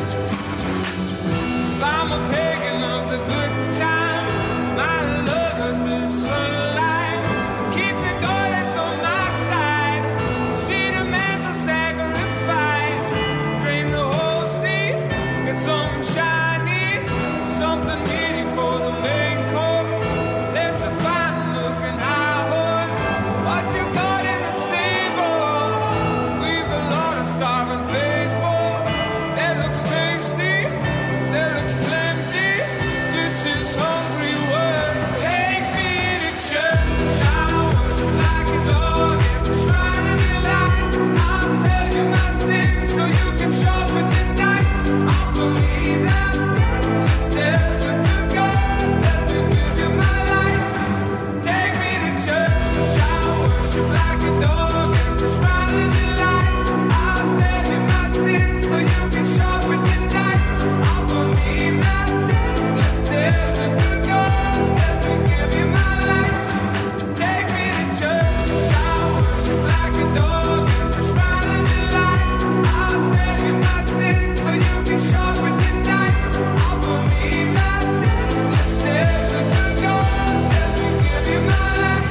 If I'm a pagan of the good time, my love is the sunlight. Keep the goddess on my side. She demands a sacrifice. Drain the whole sea, get some shiny, something meaty for the main course. Let's a fine looking high horse. What you got in the stable? We've a lot of starving faithful. That looks tasty, that looks plenty. This is hungry work. Take me to church. I worship like a dog at the shrine of your light. I'll tell you my sins so you can sharpen your knife. Offer me that instead of the God. Let me give you my life. Take me to church. I worship like a dog at the shrine of your light. I'll tell you my sins so you can sharpen your knife. Offer me that instead of the God. Let me give you my life. Take me to church. I worship like a dog at the shrine of your light. I'll tell you my sins so you can sharpen your knife. Offer me that instead of the God. Let me give you my life.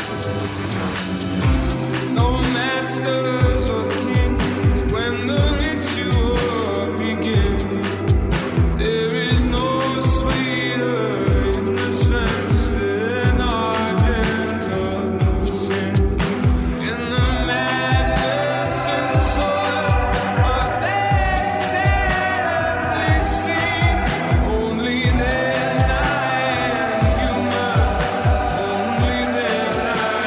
No masters or kings when the ritual begins. There is no sweeter innocence than our gentle sin. In the madness and soil of that sadly scene, only then I am human. Only then I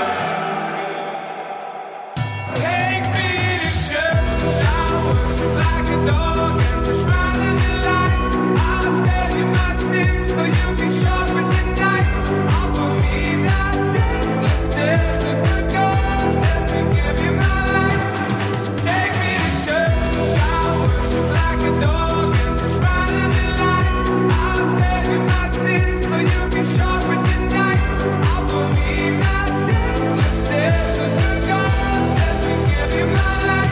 am. Take me to church. I worship like a dog at the shrine of your light. I'll tell you my sins so you can sharpen your knife. Offer me that instead of the God. Let me give you my life. Take me to church. I worship like a dog at the shrine of your light. I'll tell you my sins so you can sharpen your knife. Offer me that instead of the God. Let me give you my life.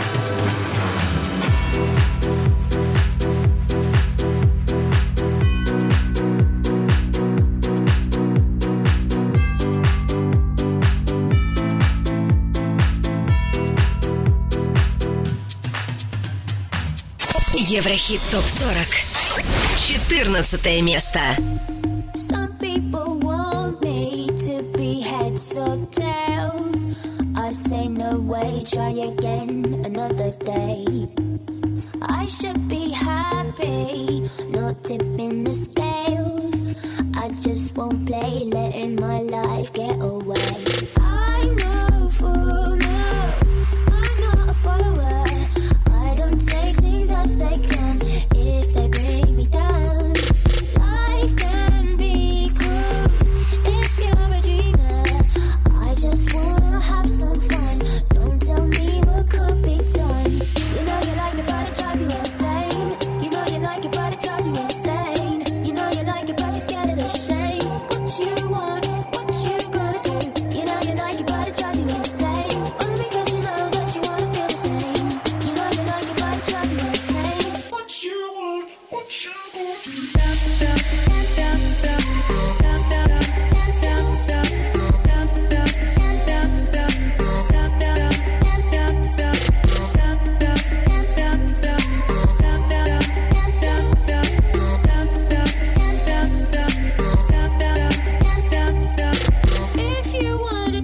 Еврохит топ сорок. четырнадцатое место. Some people want me to be heads or tails. I say no way, try again another day. I should be happy, not tipping the scales. I just won't play, letting my life get away. I'm no fool, no, I'm not a follower. I don't take things as they come if they bring me down. Life can be cruel if you're a dreamer. I just wanna have some fun. Don't tell me what could be done. You know you like it, but it drives you insane. You know you like it, but it drives you insane. You know you like it, but you're scared of the shame. What you want, what you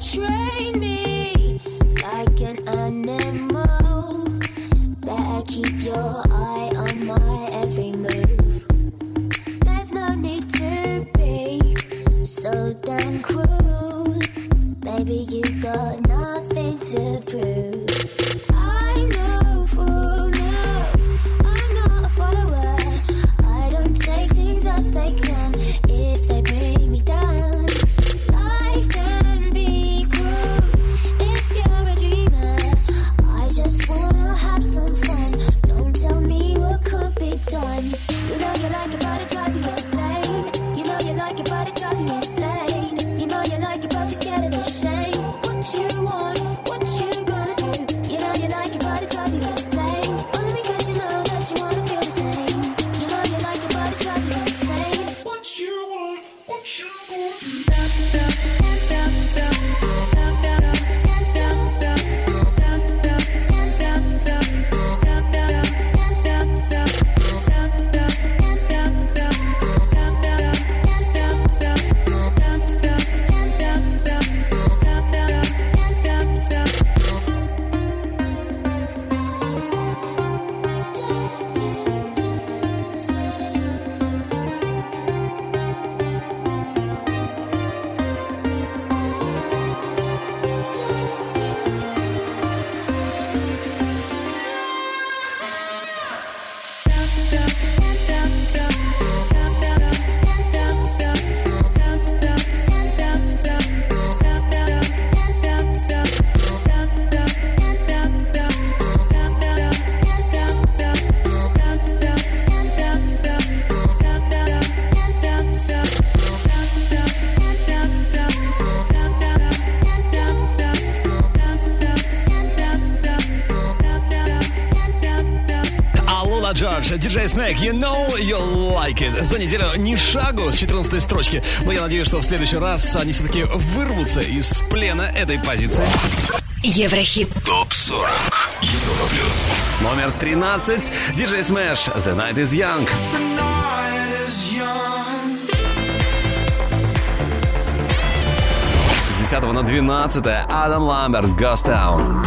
train me like an animal. Better keep your eye on my every move. There's no need to be so damn cruel. Baby, you got nothing to prove. I'm no fool, no, I'm not a follower. I don't take things as they come if they bring me down. Life can be cruel if you're a dreamer. I just wanna have some fun. Don't tell me what could be done. You know you like it, but it drives you insane. You know you like it, but it drives you insane. You know you like it, but you're scared of the shame. What you want, what you gonna do? You know you like it, but it drives you insane. Only because you know that you wanna feel the same. You know you like it, but it drives you insane. What you want, what you gonna do? Джордж, диджей Snake, You Know You Like It. За неделю ни шагу с четырнадцатой строчки. Но я надеюсь, что в следующий раз они все-таки вырвутся из плена этой позиции. Еврохит. топ сорок. Европа плюс. Номер тринадцать. диджей Smash, The Night Is Young. С десятого на двенадцатое. Адам Ламберт, Ghost Town.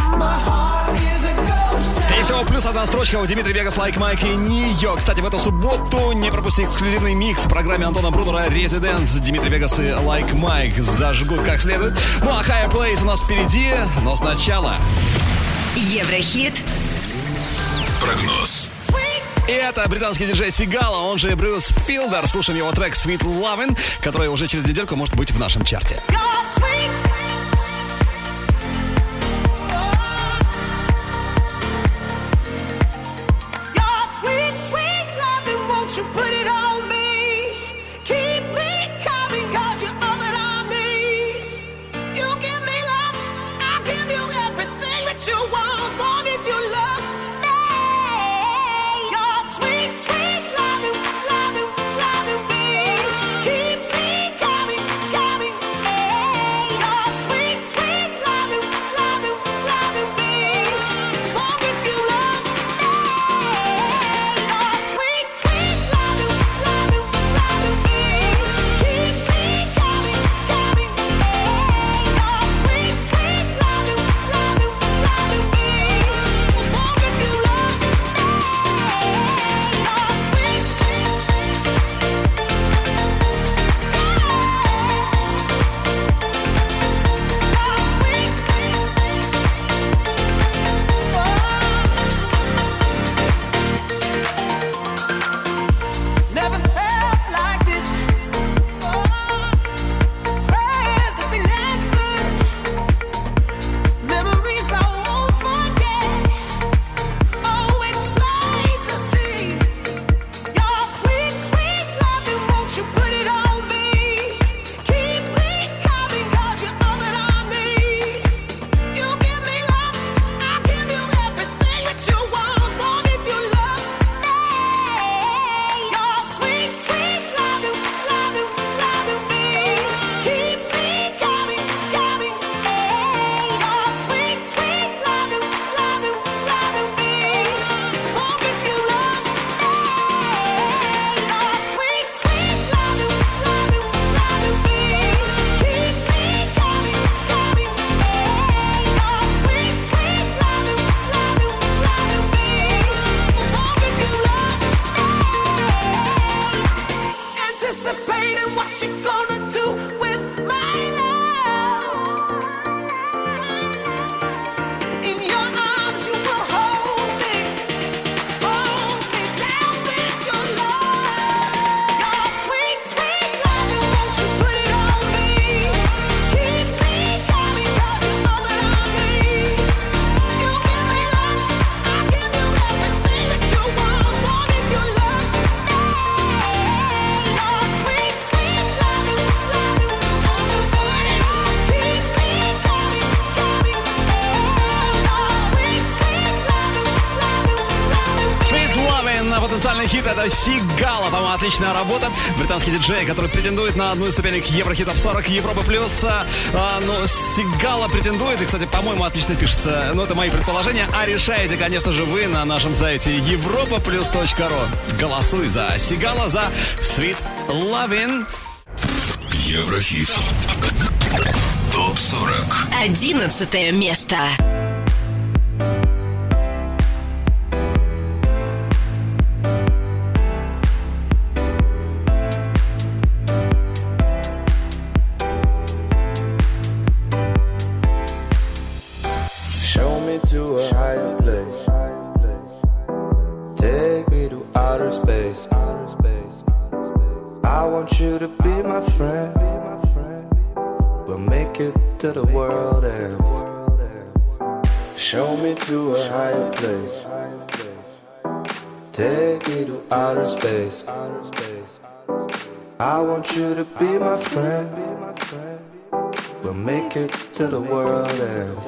И всего плюс одна строчка у Дмитрий Вегас, Like Mike и Нио. Кстати, в эту субботу не пропусти эксклюзивный микс в программе Антона Брунера Residence. Дмитрий Вегас и Like Mike зажгут как следует. Ну а Higher Place у нас впереди, но сначала Еврохит. Прогноз. И это британский диджей Сигала, он же Брюс Филдер. Слушаем его трек Sweet Lovin', который уже через недельку может быть в нашем чарте. Keep me coming, coming, yeah. потенциальный хит. Это Сигала, по-моему, отличная работа. Британский диджей, который претендует на одну из ступенек Еврохит Топ сорок Европа Плюс. А, ну, Сигала претендует, и, кстати, по-моему, отлично пишется. Но это мои предположения. А решаете, конечно же, вы на нашем сайте европа плюс точка ру. Голосуй за Сигала, за Sweet Lovin'. Еврохит. Топ сорок. Одиннадцатое место. Show me to a higher place. Take me to outer space. I want you to be my friend. We'll make it till the world ends. Show me to a higher place. Take me to outer space. I want you to be my friend. We'll make it till the world ends.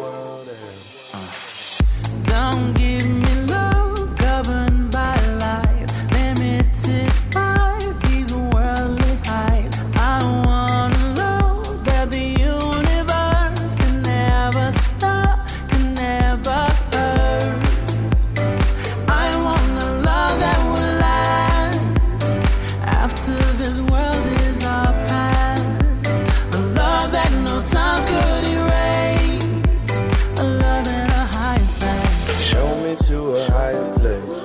Don't give me love governed by life, limited by these worldly highs. I wanna know that the universe can never stop, can never hurt. I want a love that will last after this world is our past. A love that no time could erase. A love and a high place. Show me to a higher place.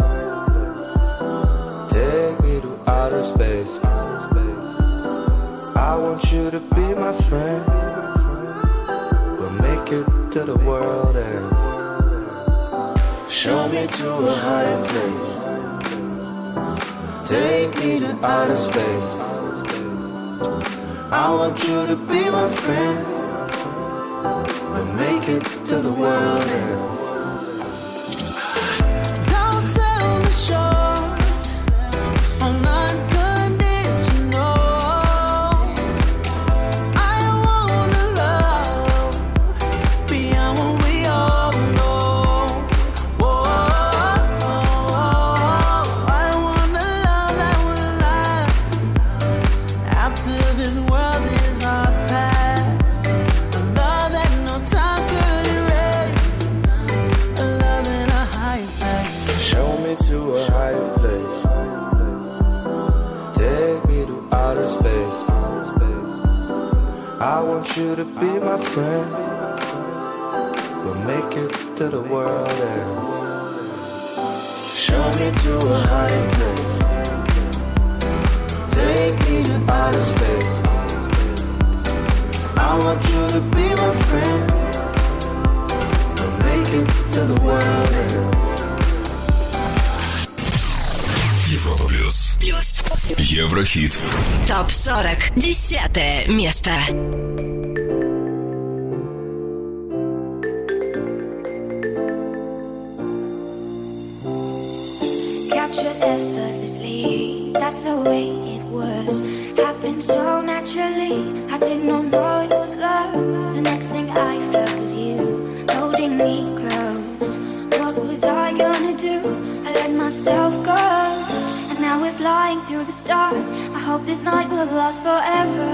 Take me to outer space. I want you to be my friend. We'll make it till the world ends. Show me to a higher place. Take me to outer space. I want you to be my friend. We'll make it till the world ends. Don't sell me short on unconditional. I wanna love beyond what we all know. Whoa, I want the love that will last after this world is our past. A love that no time could erase. A love in a high place. Show me to a higher place. Take me to outer space. I want you to be my friend. We'll make it till the world ends. Show me to a higher place. Take me to outer space. I want you to be my friend. We'll make it till the world ends. Европа Плюс. Плюс. Еврохит. Топ сорок. Десятое место. Captured effortlessly, that's the way it was. Happened so naturally, I did not know it was love. The next thing I felt was you, holding me close. What was I gonna do? I let myself go, and now we're flying through the stars. I hope this night will last forever.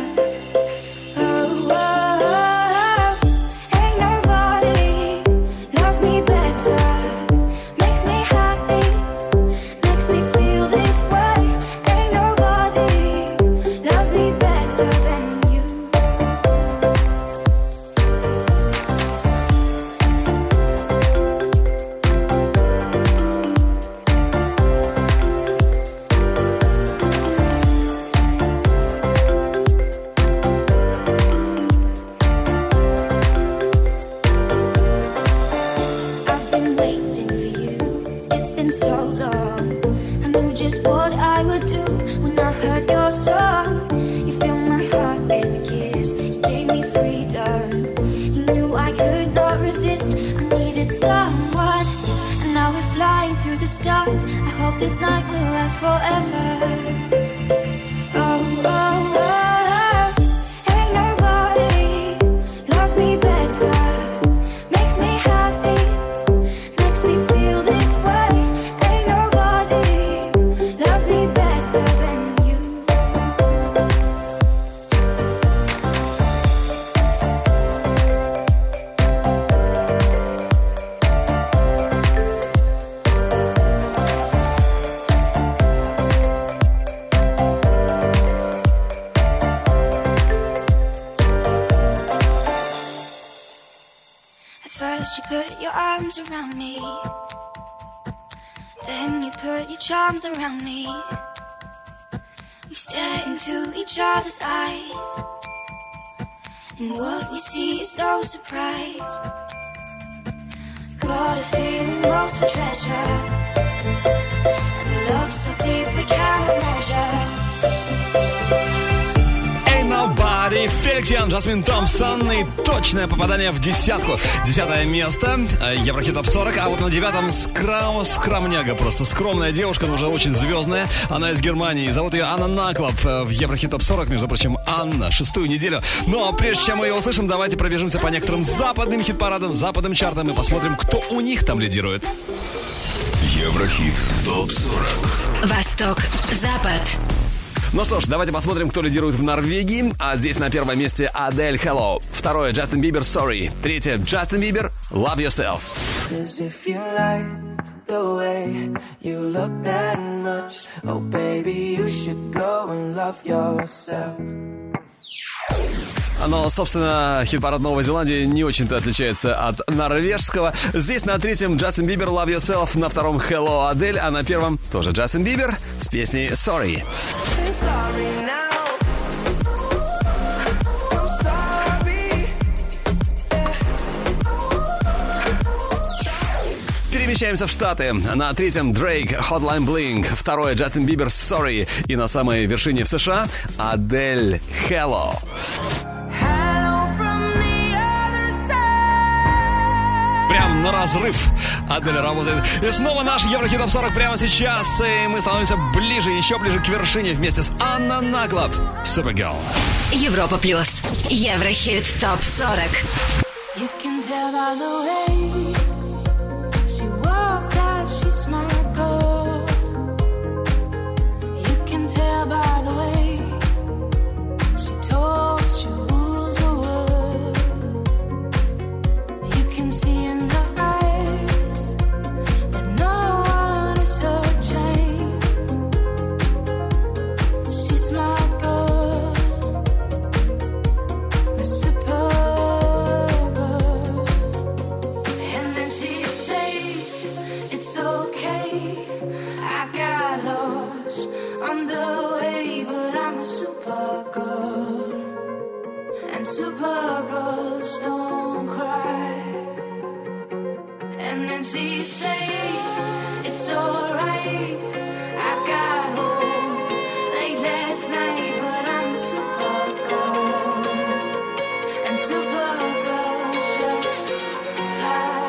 Oh, oh, oh. Ain't nobody loves me better. Makes me happy, makes me feel this way. Ain't nobody loves me better than you. I've been waiting for you, it's been so long. I knew just what I would do when I heard your song. You filled my heart with a kiss, you gave me freedom. You knew I could not resist, I needed someone. And now we're flying through the stars. I hope this night will last forever. Oh, oh, oh. Ain't nobody loves me better. Makes me happy, makes me feel this way. Ain't nobody First you put your arms around me, then you put your charms around me. We stare into each other's eyes, and what we see is no surprise. Got a feeling most for treasure, and a love so deep we cannot measure. Nobody, Феликс Ян, Джасмин Томпсон. И точное попадание в десятку. Десятое место, Еврохит Топ сорок. А вот на девятом скрам, скромняга просто. Скромная девушка, но уже очень звездная. Она из Германии. Зовут ее Анна Наклоп. В Еврохит Топ сорок, между прочим, Анна. Шестую неделю. Ну а прежде чем мы ее услышим, давайте пробежимся по некоторым западным хит-парадам, западным чартам и посмотрим, кто у них там лидирует. Еврохит Топ сорок. Восток, Запад. Ну что ж, давайте посмотрим, кто лидирует в Норвегии. А здесь на первом месте Адель Hello. Второе, Джастин Бибер Sorry. Третье, Джастин Бибер Love Yourself. Cause if you like the way you look that much, oh baby, you should go and love yourself. Но, собственно, хит-парад Новой Зеландии не очень-то отличается от норвежского. Здесь на третьем Джастин Бибер Love Yourself, на втором Hello Адель, а на первом тоже Джастин Бибер с песней Sorry. Перемещаемся в Штаты. На третьем Дрейк Hotline Bling, второе Джастин Бибер Sorry и на самой вершине в США Адель Hello. Прям на разрыв Адель работает. И снова наш Еврохит Топ сорок прямо сейчас. И мы становимся ближе, еще ближе к вершине вместе с Анна Наклоп. Supergirl. Европа плюс. Еврохит Топ сорок. You can tell by the way she walks that she's my girl. You can tell by the way she talks, she rules her words. You can see in her eyes that no one is her chain. She's my girl, my super. And then she say it's okay, I got lost on the way, but I'm a super girl, and super girls don't cry. And then she say it's alright, I got home late last night, but I'm a super girl, and super girls just fly.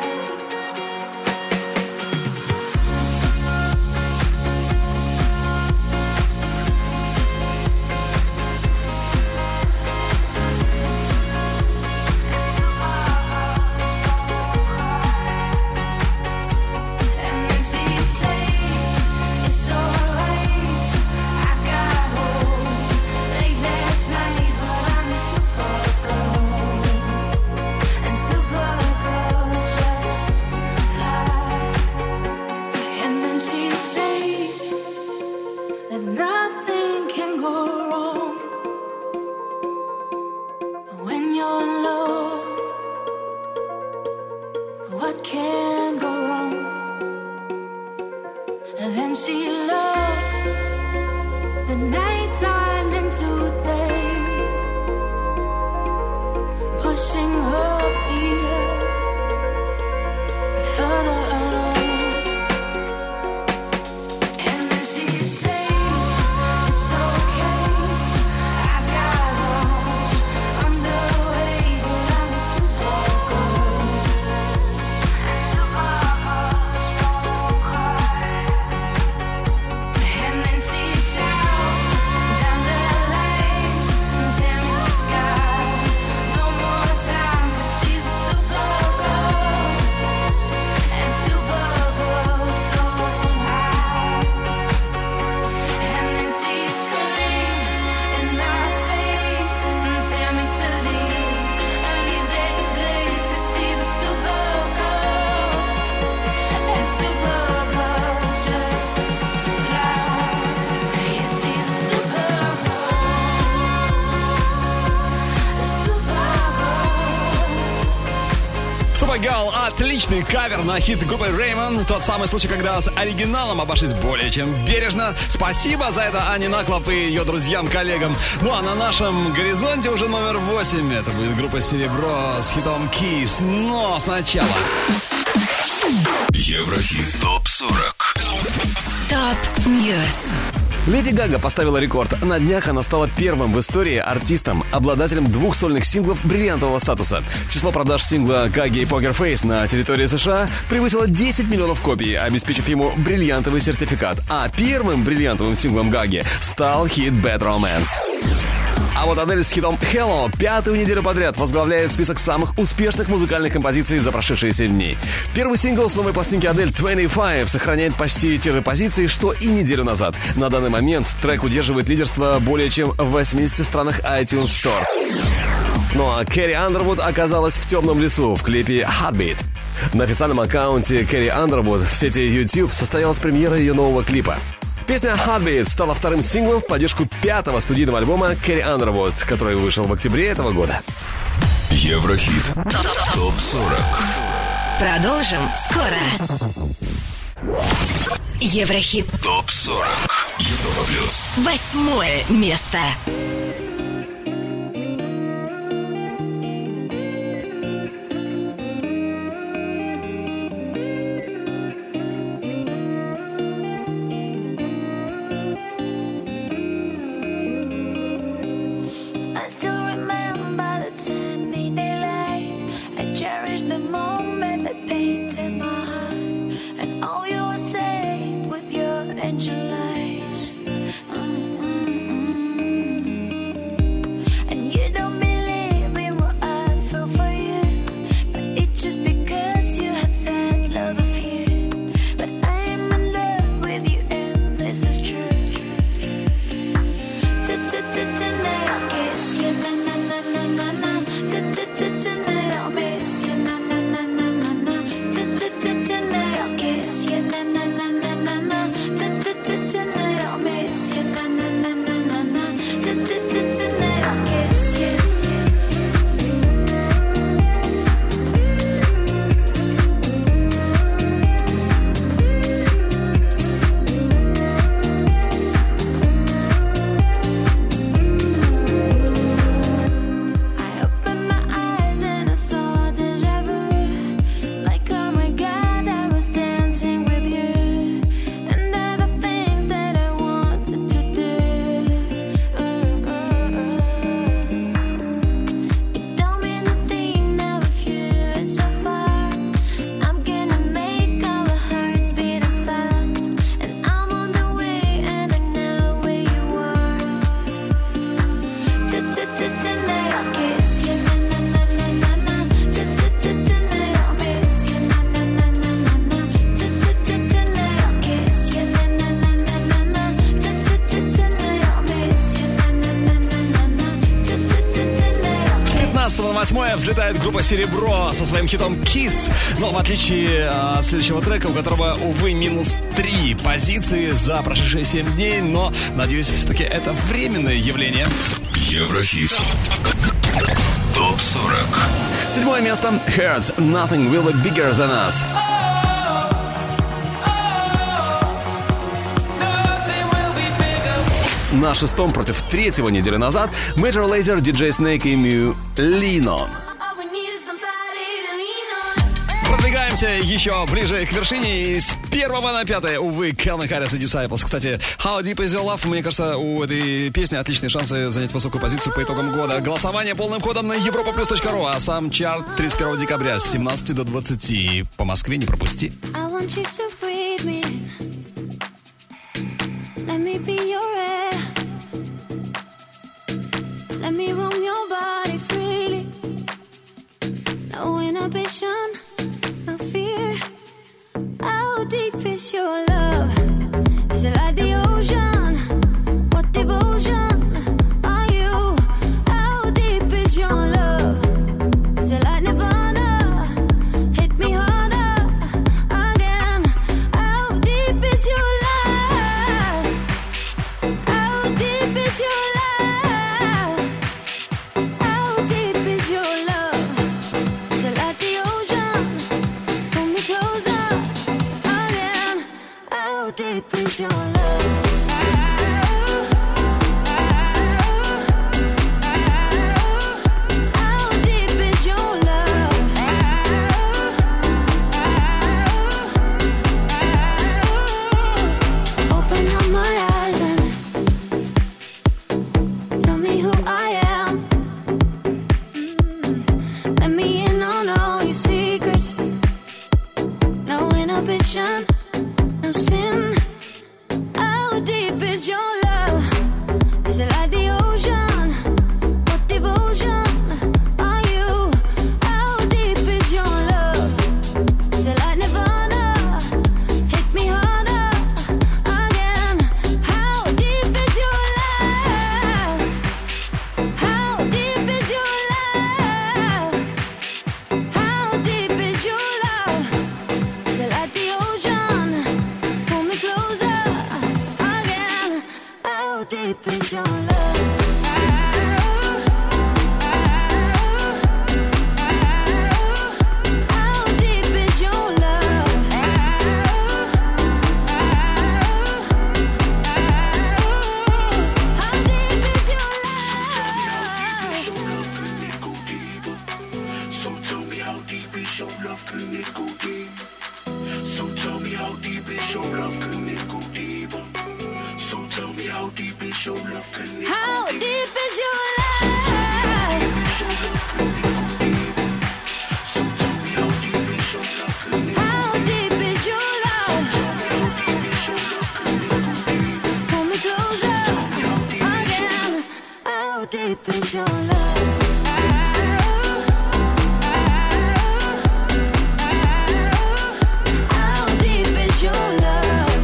And then she say it's alright, Supergirl — отличный кавер на хит группы Raymond. Тот самый случай, когда с оригиналом обошлись более чем бережно. Спасибо за это Ане Наклоп и ее друзьям-коллегам. Ну а на нашем горизонте уже номер восемь. Это будет группа «Серебро» с хитом «Kiss». Но сначала... Еврохит топ сорок. Топ Ньюс. Леди Гага поставила рекорд. На днях она стала первым в истории артистом, обладателем двух сольных синглов бриллиантового статуса. Число продаж сингла Гаги и Poker Face на территории США превысило десять миллионов копий, обеспечив ему бриллиантовый сертификат. А первым бриллиантовым синглом Гаги стал хит Bad Romance. А вот Адель с хитом Hello пятую неделю подряд возглавляет список самых успешных музыкальных композиций за прошедшие семь дней. Первый сингл с новой пластинки Адель двадцать пять сохраняет почти те же позиции, что и неделю назад. На данный момент трек удерживает лидерство более чем в восьмидесяти странах iTunes Store. Ну а Кэрри Андервуд оказалась в темном лесу в клипе Heartbeat. На официальном аккаунте Кэрри Андервуд в сети YouTube состоялась премьера ее нового клипа. Песня Heartbeat стала вторым синглом в поддержку пятого студийного альбома Кэрри Андервуд, который вышел в октябре этого года. Еврохит топ сорок. Продолжим скоро. Еврохит топ сорок. Европа плюс. Восьмое место. Восьмое взлетает группа «Серебро» со своим хитом «Kiss». Но в отличие от следующего трека, у которого, увы, минус три позиции за прошедшие семь дней, но, надеюсь, все-таки это временное явление. Еврохит топ сорок. Седьмое место. Hurts. Nothing will be bigger than us. На шестом против третьего недели назад Major Lazer, ди джей Snake и Mew Lean On. Продвигаемся еще ближе к вершине. С первого на пятое, увы, Calvin Harris и Disciples. Кстати, How Deep Is Your Love, мне кажется, у этой песни отличные шансы занять высокую позицию по итогам года. Голосование полным ходом на европа плюс точка ру, а сам чарт тридцать первого декабря с семнадцати до двадцати. По Москве не пропусти. Let me roam your body freely. No inhibition, no fear. How deep is your love? Is it like the ocean? What devotion are you? How deep is your love? Is it like Nirvana? Hit me harder again. How deep is your love? How deep is your love? How deep is your love? Is it like the ocean? Let me in on all your secrets. No inhibition, no sin. How deep is your love? Is it like the ocean? What devotion are you? How deep is your love? Is it like Nirvana? Hit me harder again. How deep is your love? How deep is your love? How deep is your love? Is it like the ocean? Pull me closer again. How deep is your love? How deep is your love? How deep is your love? So tell me how deep is your love, can it go deep? So tell me how deep is your love, can it go deeper? So tell me how deep is your love, can it How go deep? deep is your love? How deep is your love? Pull me closer again. How deep is your love? How deep is your love?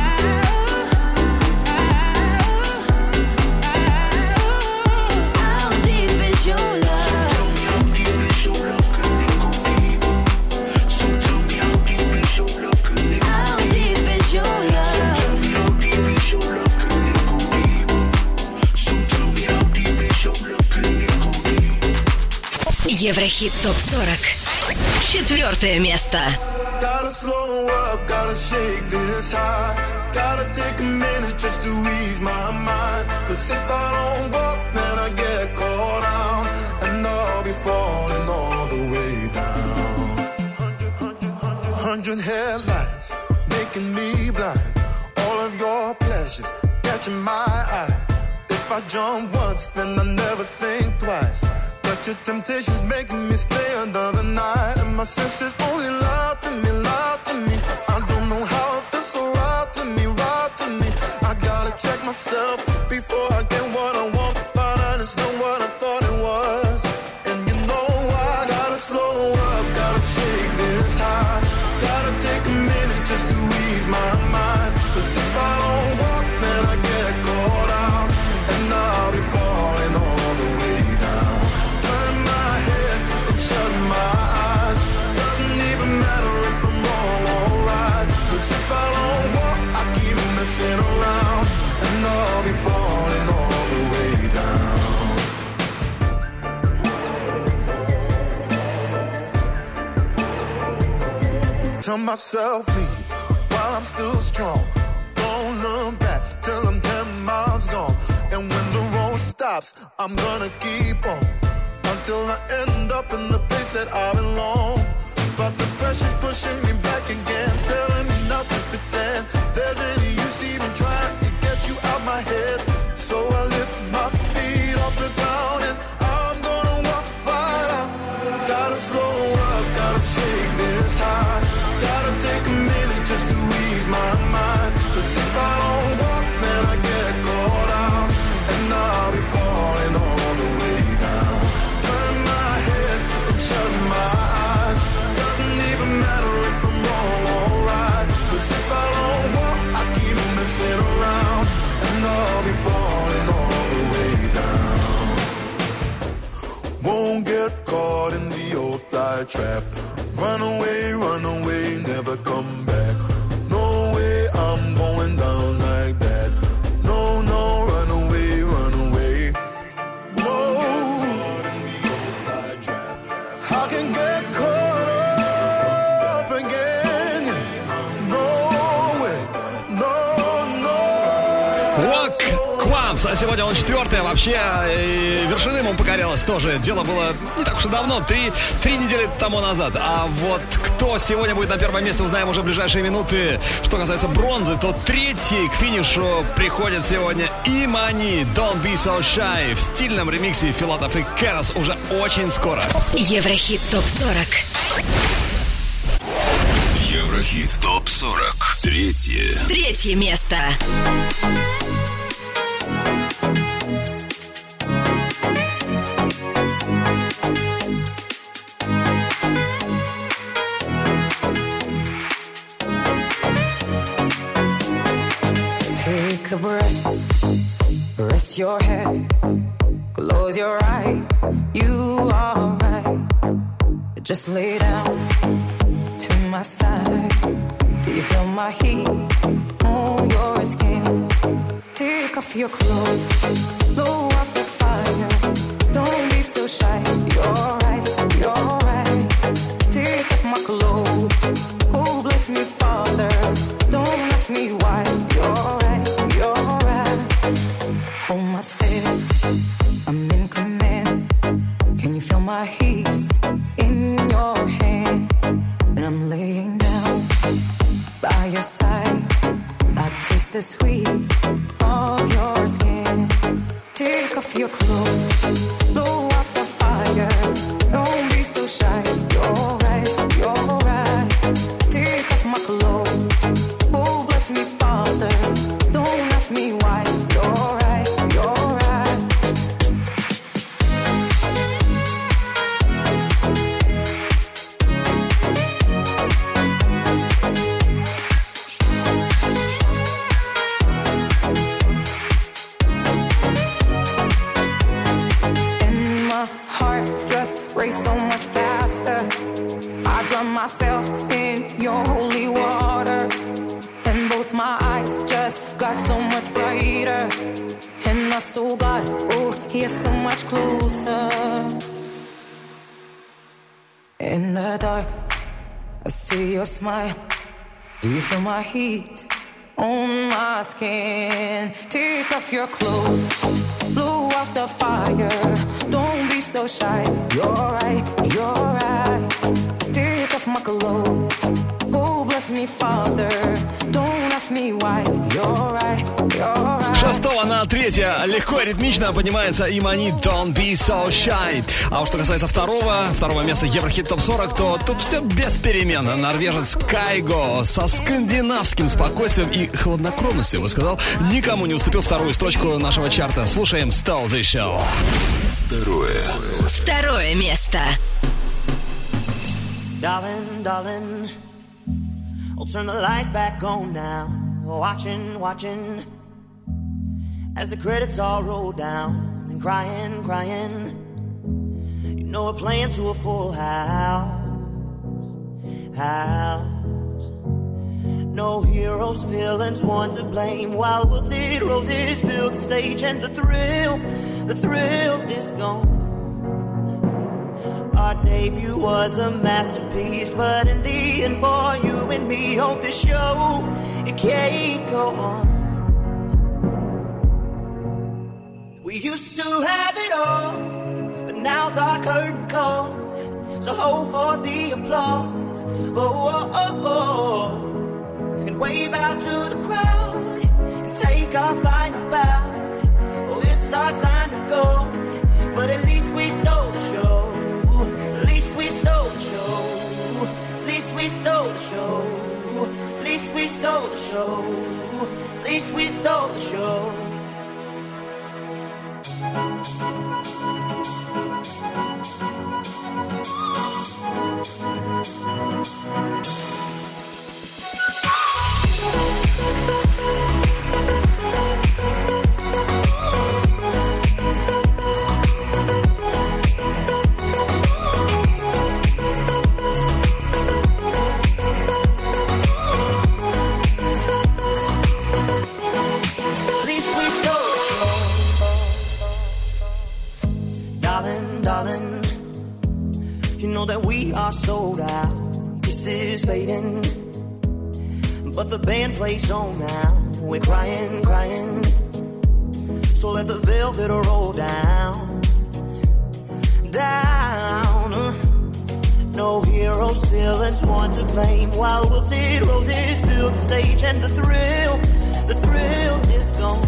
How deep is your love? How deep is your love? Еврохит топ сорок. Четвертое место. Gotta slow up, gotta shake this high. Gotta take a minute just to ease my mind. Cause if I don't walk, then I get caught out. And I'll be falling all the way down. Hundred headlights, making me blind. All of your pleasures, catching my eye. If I jump once, then I never think twice. But your temptation's making me stay another night. And my senses only lie to me, lie to me. I don't know how it feels so right to me, right to me. I gotta check myself before I get what I want. Find out it's not what I thought it was. And you know I gotta slow up, gotta shake this high. Gotta take a minute just to ease my mind. Cause if I don't walk, then I get caught out. And I'll be falling all the way down. Turn my head and shut my eyes. Doesn't even matter if I'm wrong or right. Cause if I don't walk, I keep messing around. And I'll be falling all the way down. Tell myself leave while I'm still strong. Don't look back till I'm ten miles gone. And when the road stops, I'm gonna keep on until I end up in the place that I belong. But the pressure's pushing me back again, telling me not to pretend there's any use even trying to get you out my head. So I lift my feet off the ground and I'm gonna walk right out. Gotta slow up, gotta shake this high. Gotta take a minute just to ease my mind. Cause if I don't walk, then I get caught out. And I'll be falling all the way down. Turn my head and shut my eyes. Doesn't even matter if I'm wrong or right. Cause if I don't walk, I keep messing around. And I'll be falling all the way down. Won't get caught in the old fly trap. Run away, run away, never come back. No way, I'm going down like that. No, no, run away, run away. No, I can get caught up again. No way, no, no. Walk Quabs, Сегодня он четвертый, а вообще э, вершиной ему покорялось тоже. Дело было не так уж и давно, три, три недели тому назад. А вот кто сегодня будет на первом месте, узнаем уже в ближайшие минуты. Что касается бронзы, то третий к финишу приходит сегодня Имани, Don't Be So Shy, в стильном ремиксе Филатов и Кэрос уже очень скоро. Еврохит топ сорок. Еврохит топ сорок. Третье. Третье место. Take a breath, rest your head, close your eyes, you are right. Just lay down to my side. Do you feel my heat on your skin? Take off your clothes, blow up the fire. Don't be so shy, you're right, you're right. Take off my clothes, oh bless me Father. Don't ask me why, you're right, you're right. Hold my step, I'm in command. Can you feel my hips in your hands? And I'm laying down by your side. I taste the sweet of your skin. Take off your clothes, blow up the fire. Don't be so shy, you're right, you're right. Take off my clothes, oh bless me Father. Don't ask me why, you're right, you're right. And my heart just race so much faster. I drown myself in your holy water. And both my eyes just got so much brighter. And I saw God, oh, He is so much closer. In the dark, I see your smile. Do you feel my heat on my skin? Take off your clothes, blow out the fire. Don't be so shy, you're right, you're right. Take off my clothes, oh bless me Father. Don't ask me why, you're right, you're right. Шестого на третье легко и ритмично поднимается Имани Don't Be So Shy. А уж что касается второго, второго места Еврохит топ сорок, то тут все без перемен. Норвежец Кайго со скандинавским спокойствием и хладнокровностью, высказал, никому не уступил вторую строчку нашего чарта. Слушаем Stole This Show. Второе. Второе место. Darling, darling, I'll turn the lights back on now. Watching, watching, as the credits all roll down. And crying, crying, you know we're playing to a full house. House. No heroes, villains, one to blame. While wilted roses fill the stage. And the thrill, the thrill is gone. Our debut was a masterpiece, but in the end for you and me on this show, it can't go on. We used to have it all, but now's our curtain call. So hold for the applause, oh, oh, oh, oh. And wave out to the crowd, and take our final bow. Oh, it's our time to go, but at least we stole the show. At least we stole the show. At least we stole the show. At least we stole the show. At least we stole the show. That we are sold out. This is fading, but the band plays on now. We're crying, crying. So let the velvet roll down, down. No heroes, villains, one to blame. While wilted roses fill the stage, and the thrill, the thrill is gone.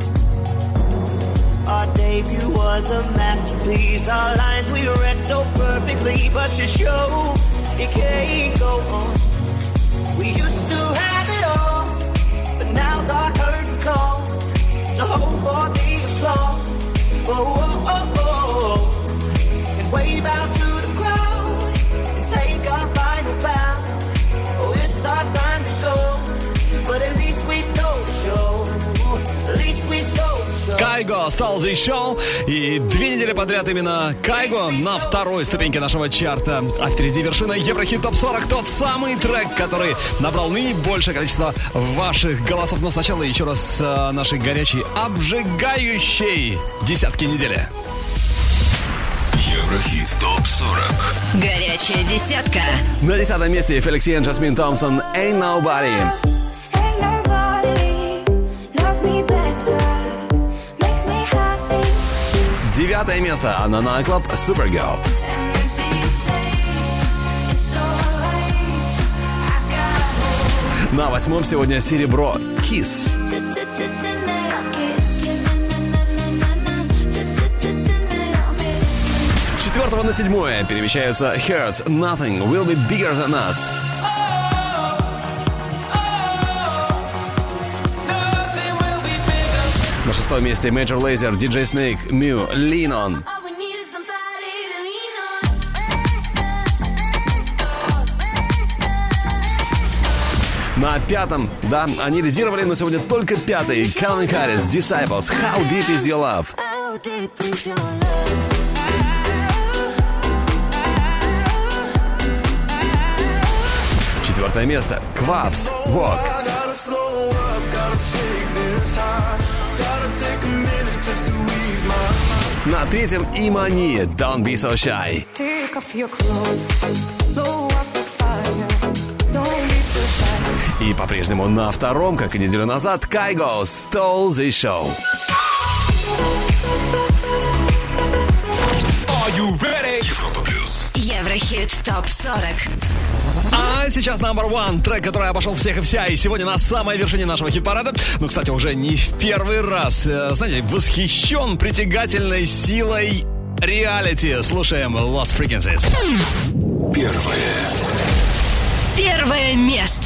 Our debut was a masterpiece. Our lines we read so perfectly, but the show, it can't go on. We used to have it all, but now's our curtain call. So hold for the applause, oh, oh, oh, oh, and wave out to the crowd and take our final bow. Oh, it's our time to go, but at least we stole the show. At least we stole the show. Кайго стал The Show. И две недели подряд именно Кайго на второй ступеньке нашего чарта. А впереди вершина Еврохит Топ сорок. Тот самый трек, который набрал наибольшее количество ваших голосов. Но сначала еще раз э, нашей горячей, обжигающей десятки недели. Еврохит Топ сорок. Горячая десятка. На десятом месте Феликс Йен, Жасмин Томпсон, Ain't Nobody. Девятое место. Анана Клаб, Supergirl. На восьмом сегодня серебро, Kiss. С четвертого на седьмое перемещаются Hurts, Nothing Will Be Bigger Than Us. На шестом месте Major Lazer, диджей Snake, Mew, Lean On. На пятом, да, они лидировали, но сегодня только пятый. Calvin Harris, Disciples, How Deep Is Your Love. Четвертое место. Quabs, Walk. На третьем Имани, Don't Be So Shy. И по-прежнему на втором, как и неделю назад, Кайго, Stole the Show. Are you ready? Европа плюс. Еврохит Топ сорок. А сейчас number one, трек, который обошел всех и вся. И сегодня на самой вершине нашего хит-парада. Ну, кстати, уже не в первый раз. Знаете, восхищен притягательной силой реалити. Слушаем Lost Frequencies. Первое. Первое место.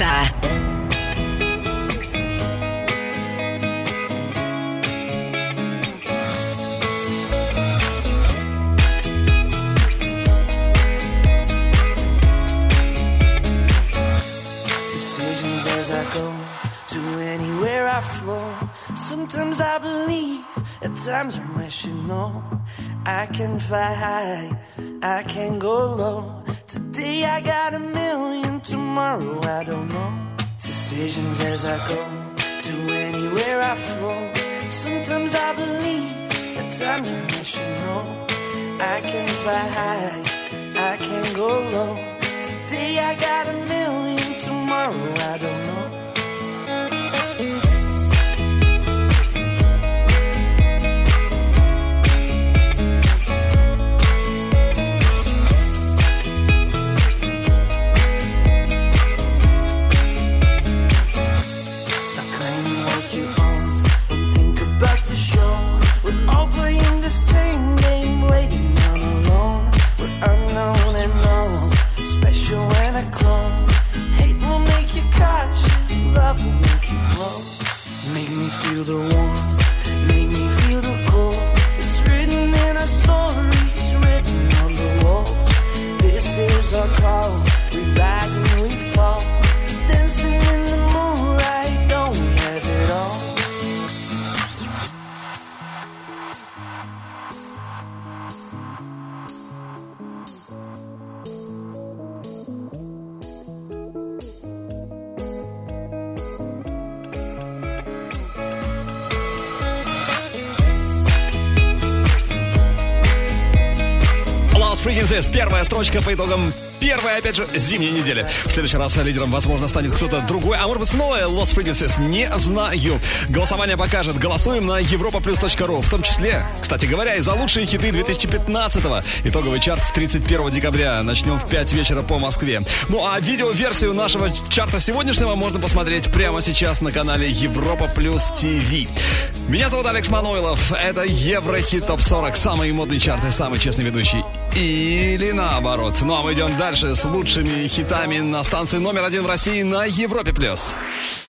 Sometimes I believe, at times I'm rational. I can fly high, I can go low. Today I got a million, tomorrow I don't know. Decisions as I go, to anywhere I flow. Sometimes I believe, at times I'm rational. I can fly high, I can go low. Today I got a million, tomorrow I don't know. Feel the warmth, make me feel the cold. It's written in our stories, written on the walls. This is our call, we rise and we fall. Dancing in the moonlight, don't we have it all? Frequencies. Первая строчка по итогам первой, опять же, зимней недели. В следующий раз лидером, возможно, станет кто-то другой. А может быть, снова Lost Frequencies. Не знаю. Голосование покажет. Голосуем на европа плюс точка ру. В том числе, кстати говоря, и за лучшие хиты две тысячи пятнадцатого. Итоговый чарт тридцать первого декабря. Начнем в пять вечера по Москве. Ну а видеоверсию нашего чарта сегодняшнего можно посмотреть прямо сейчас на канале Европа Плюс ТВ. Меня зовут Алекс Мануилов. Это Еврохит Топ сорок. Самые модные чарты, самый честный ведущий. Или наоборот. Ну а мы идем дальше с лучшими хитами на станции номер один в России на Европе Плюс.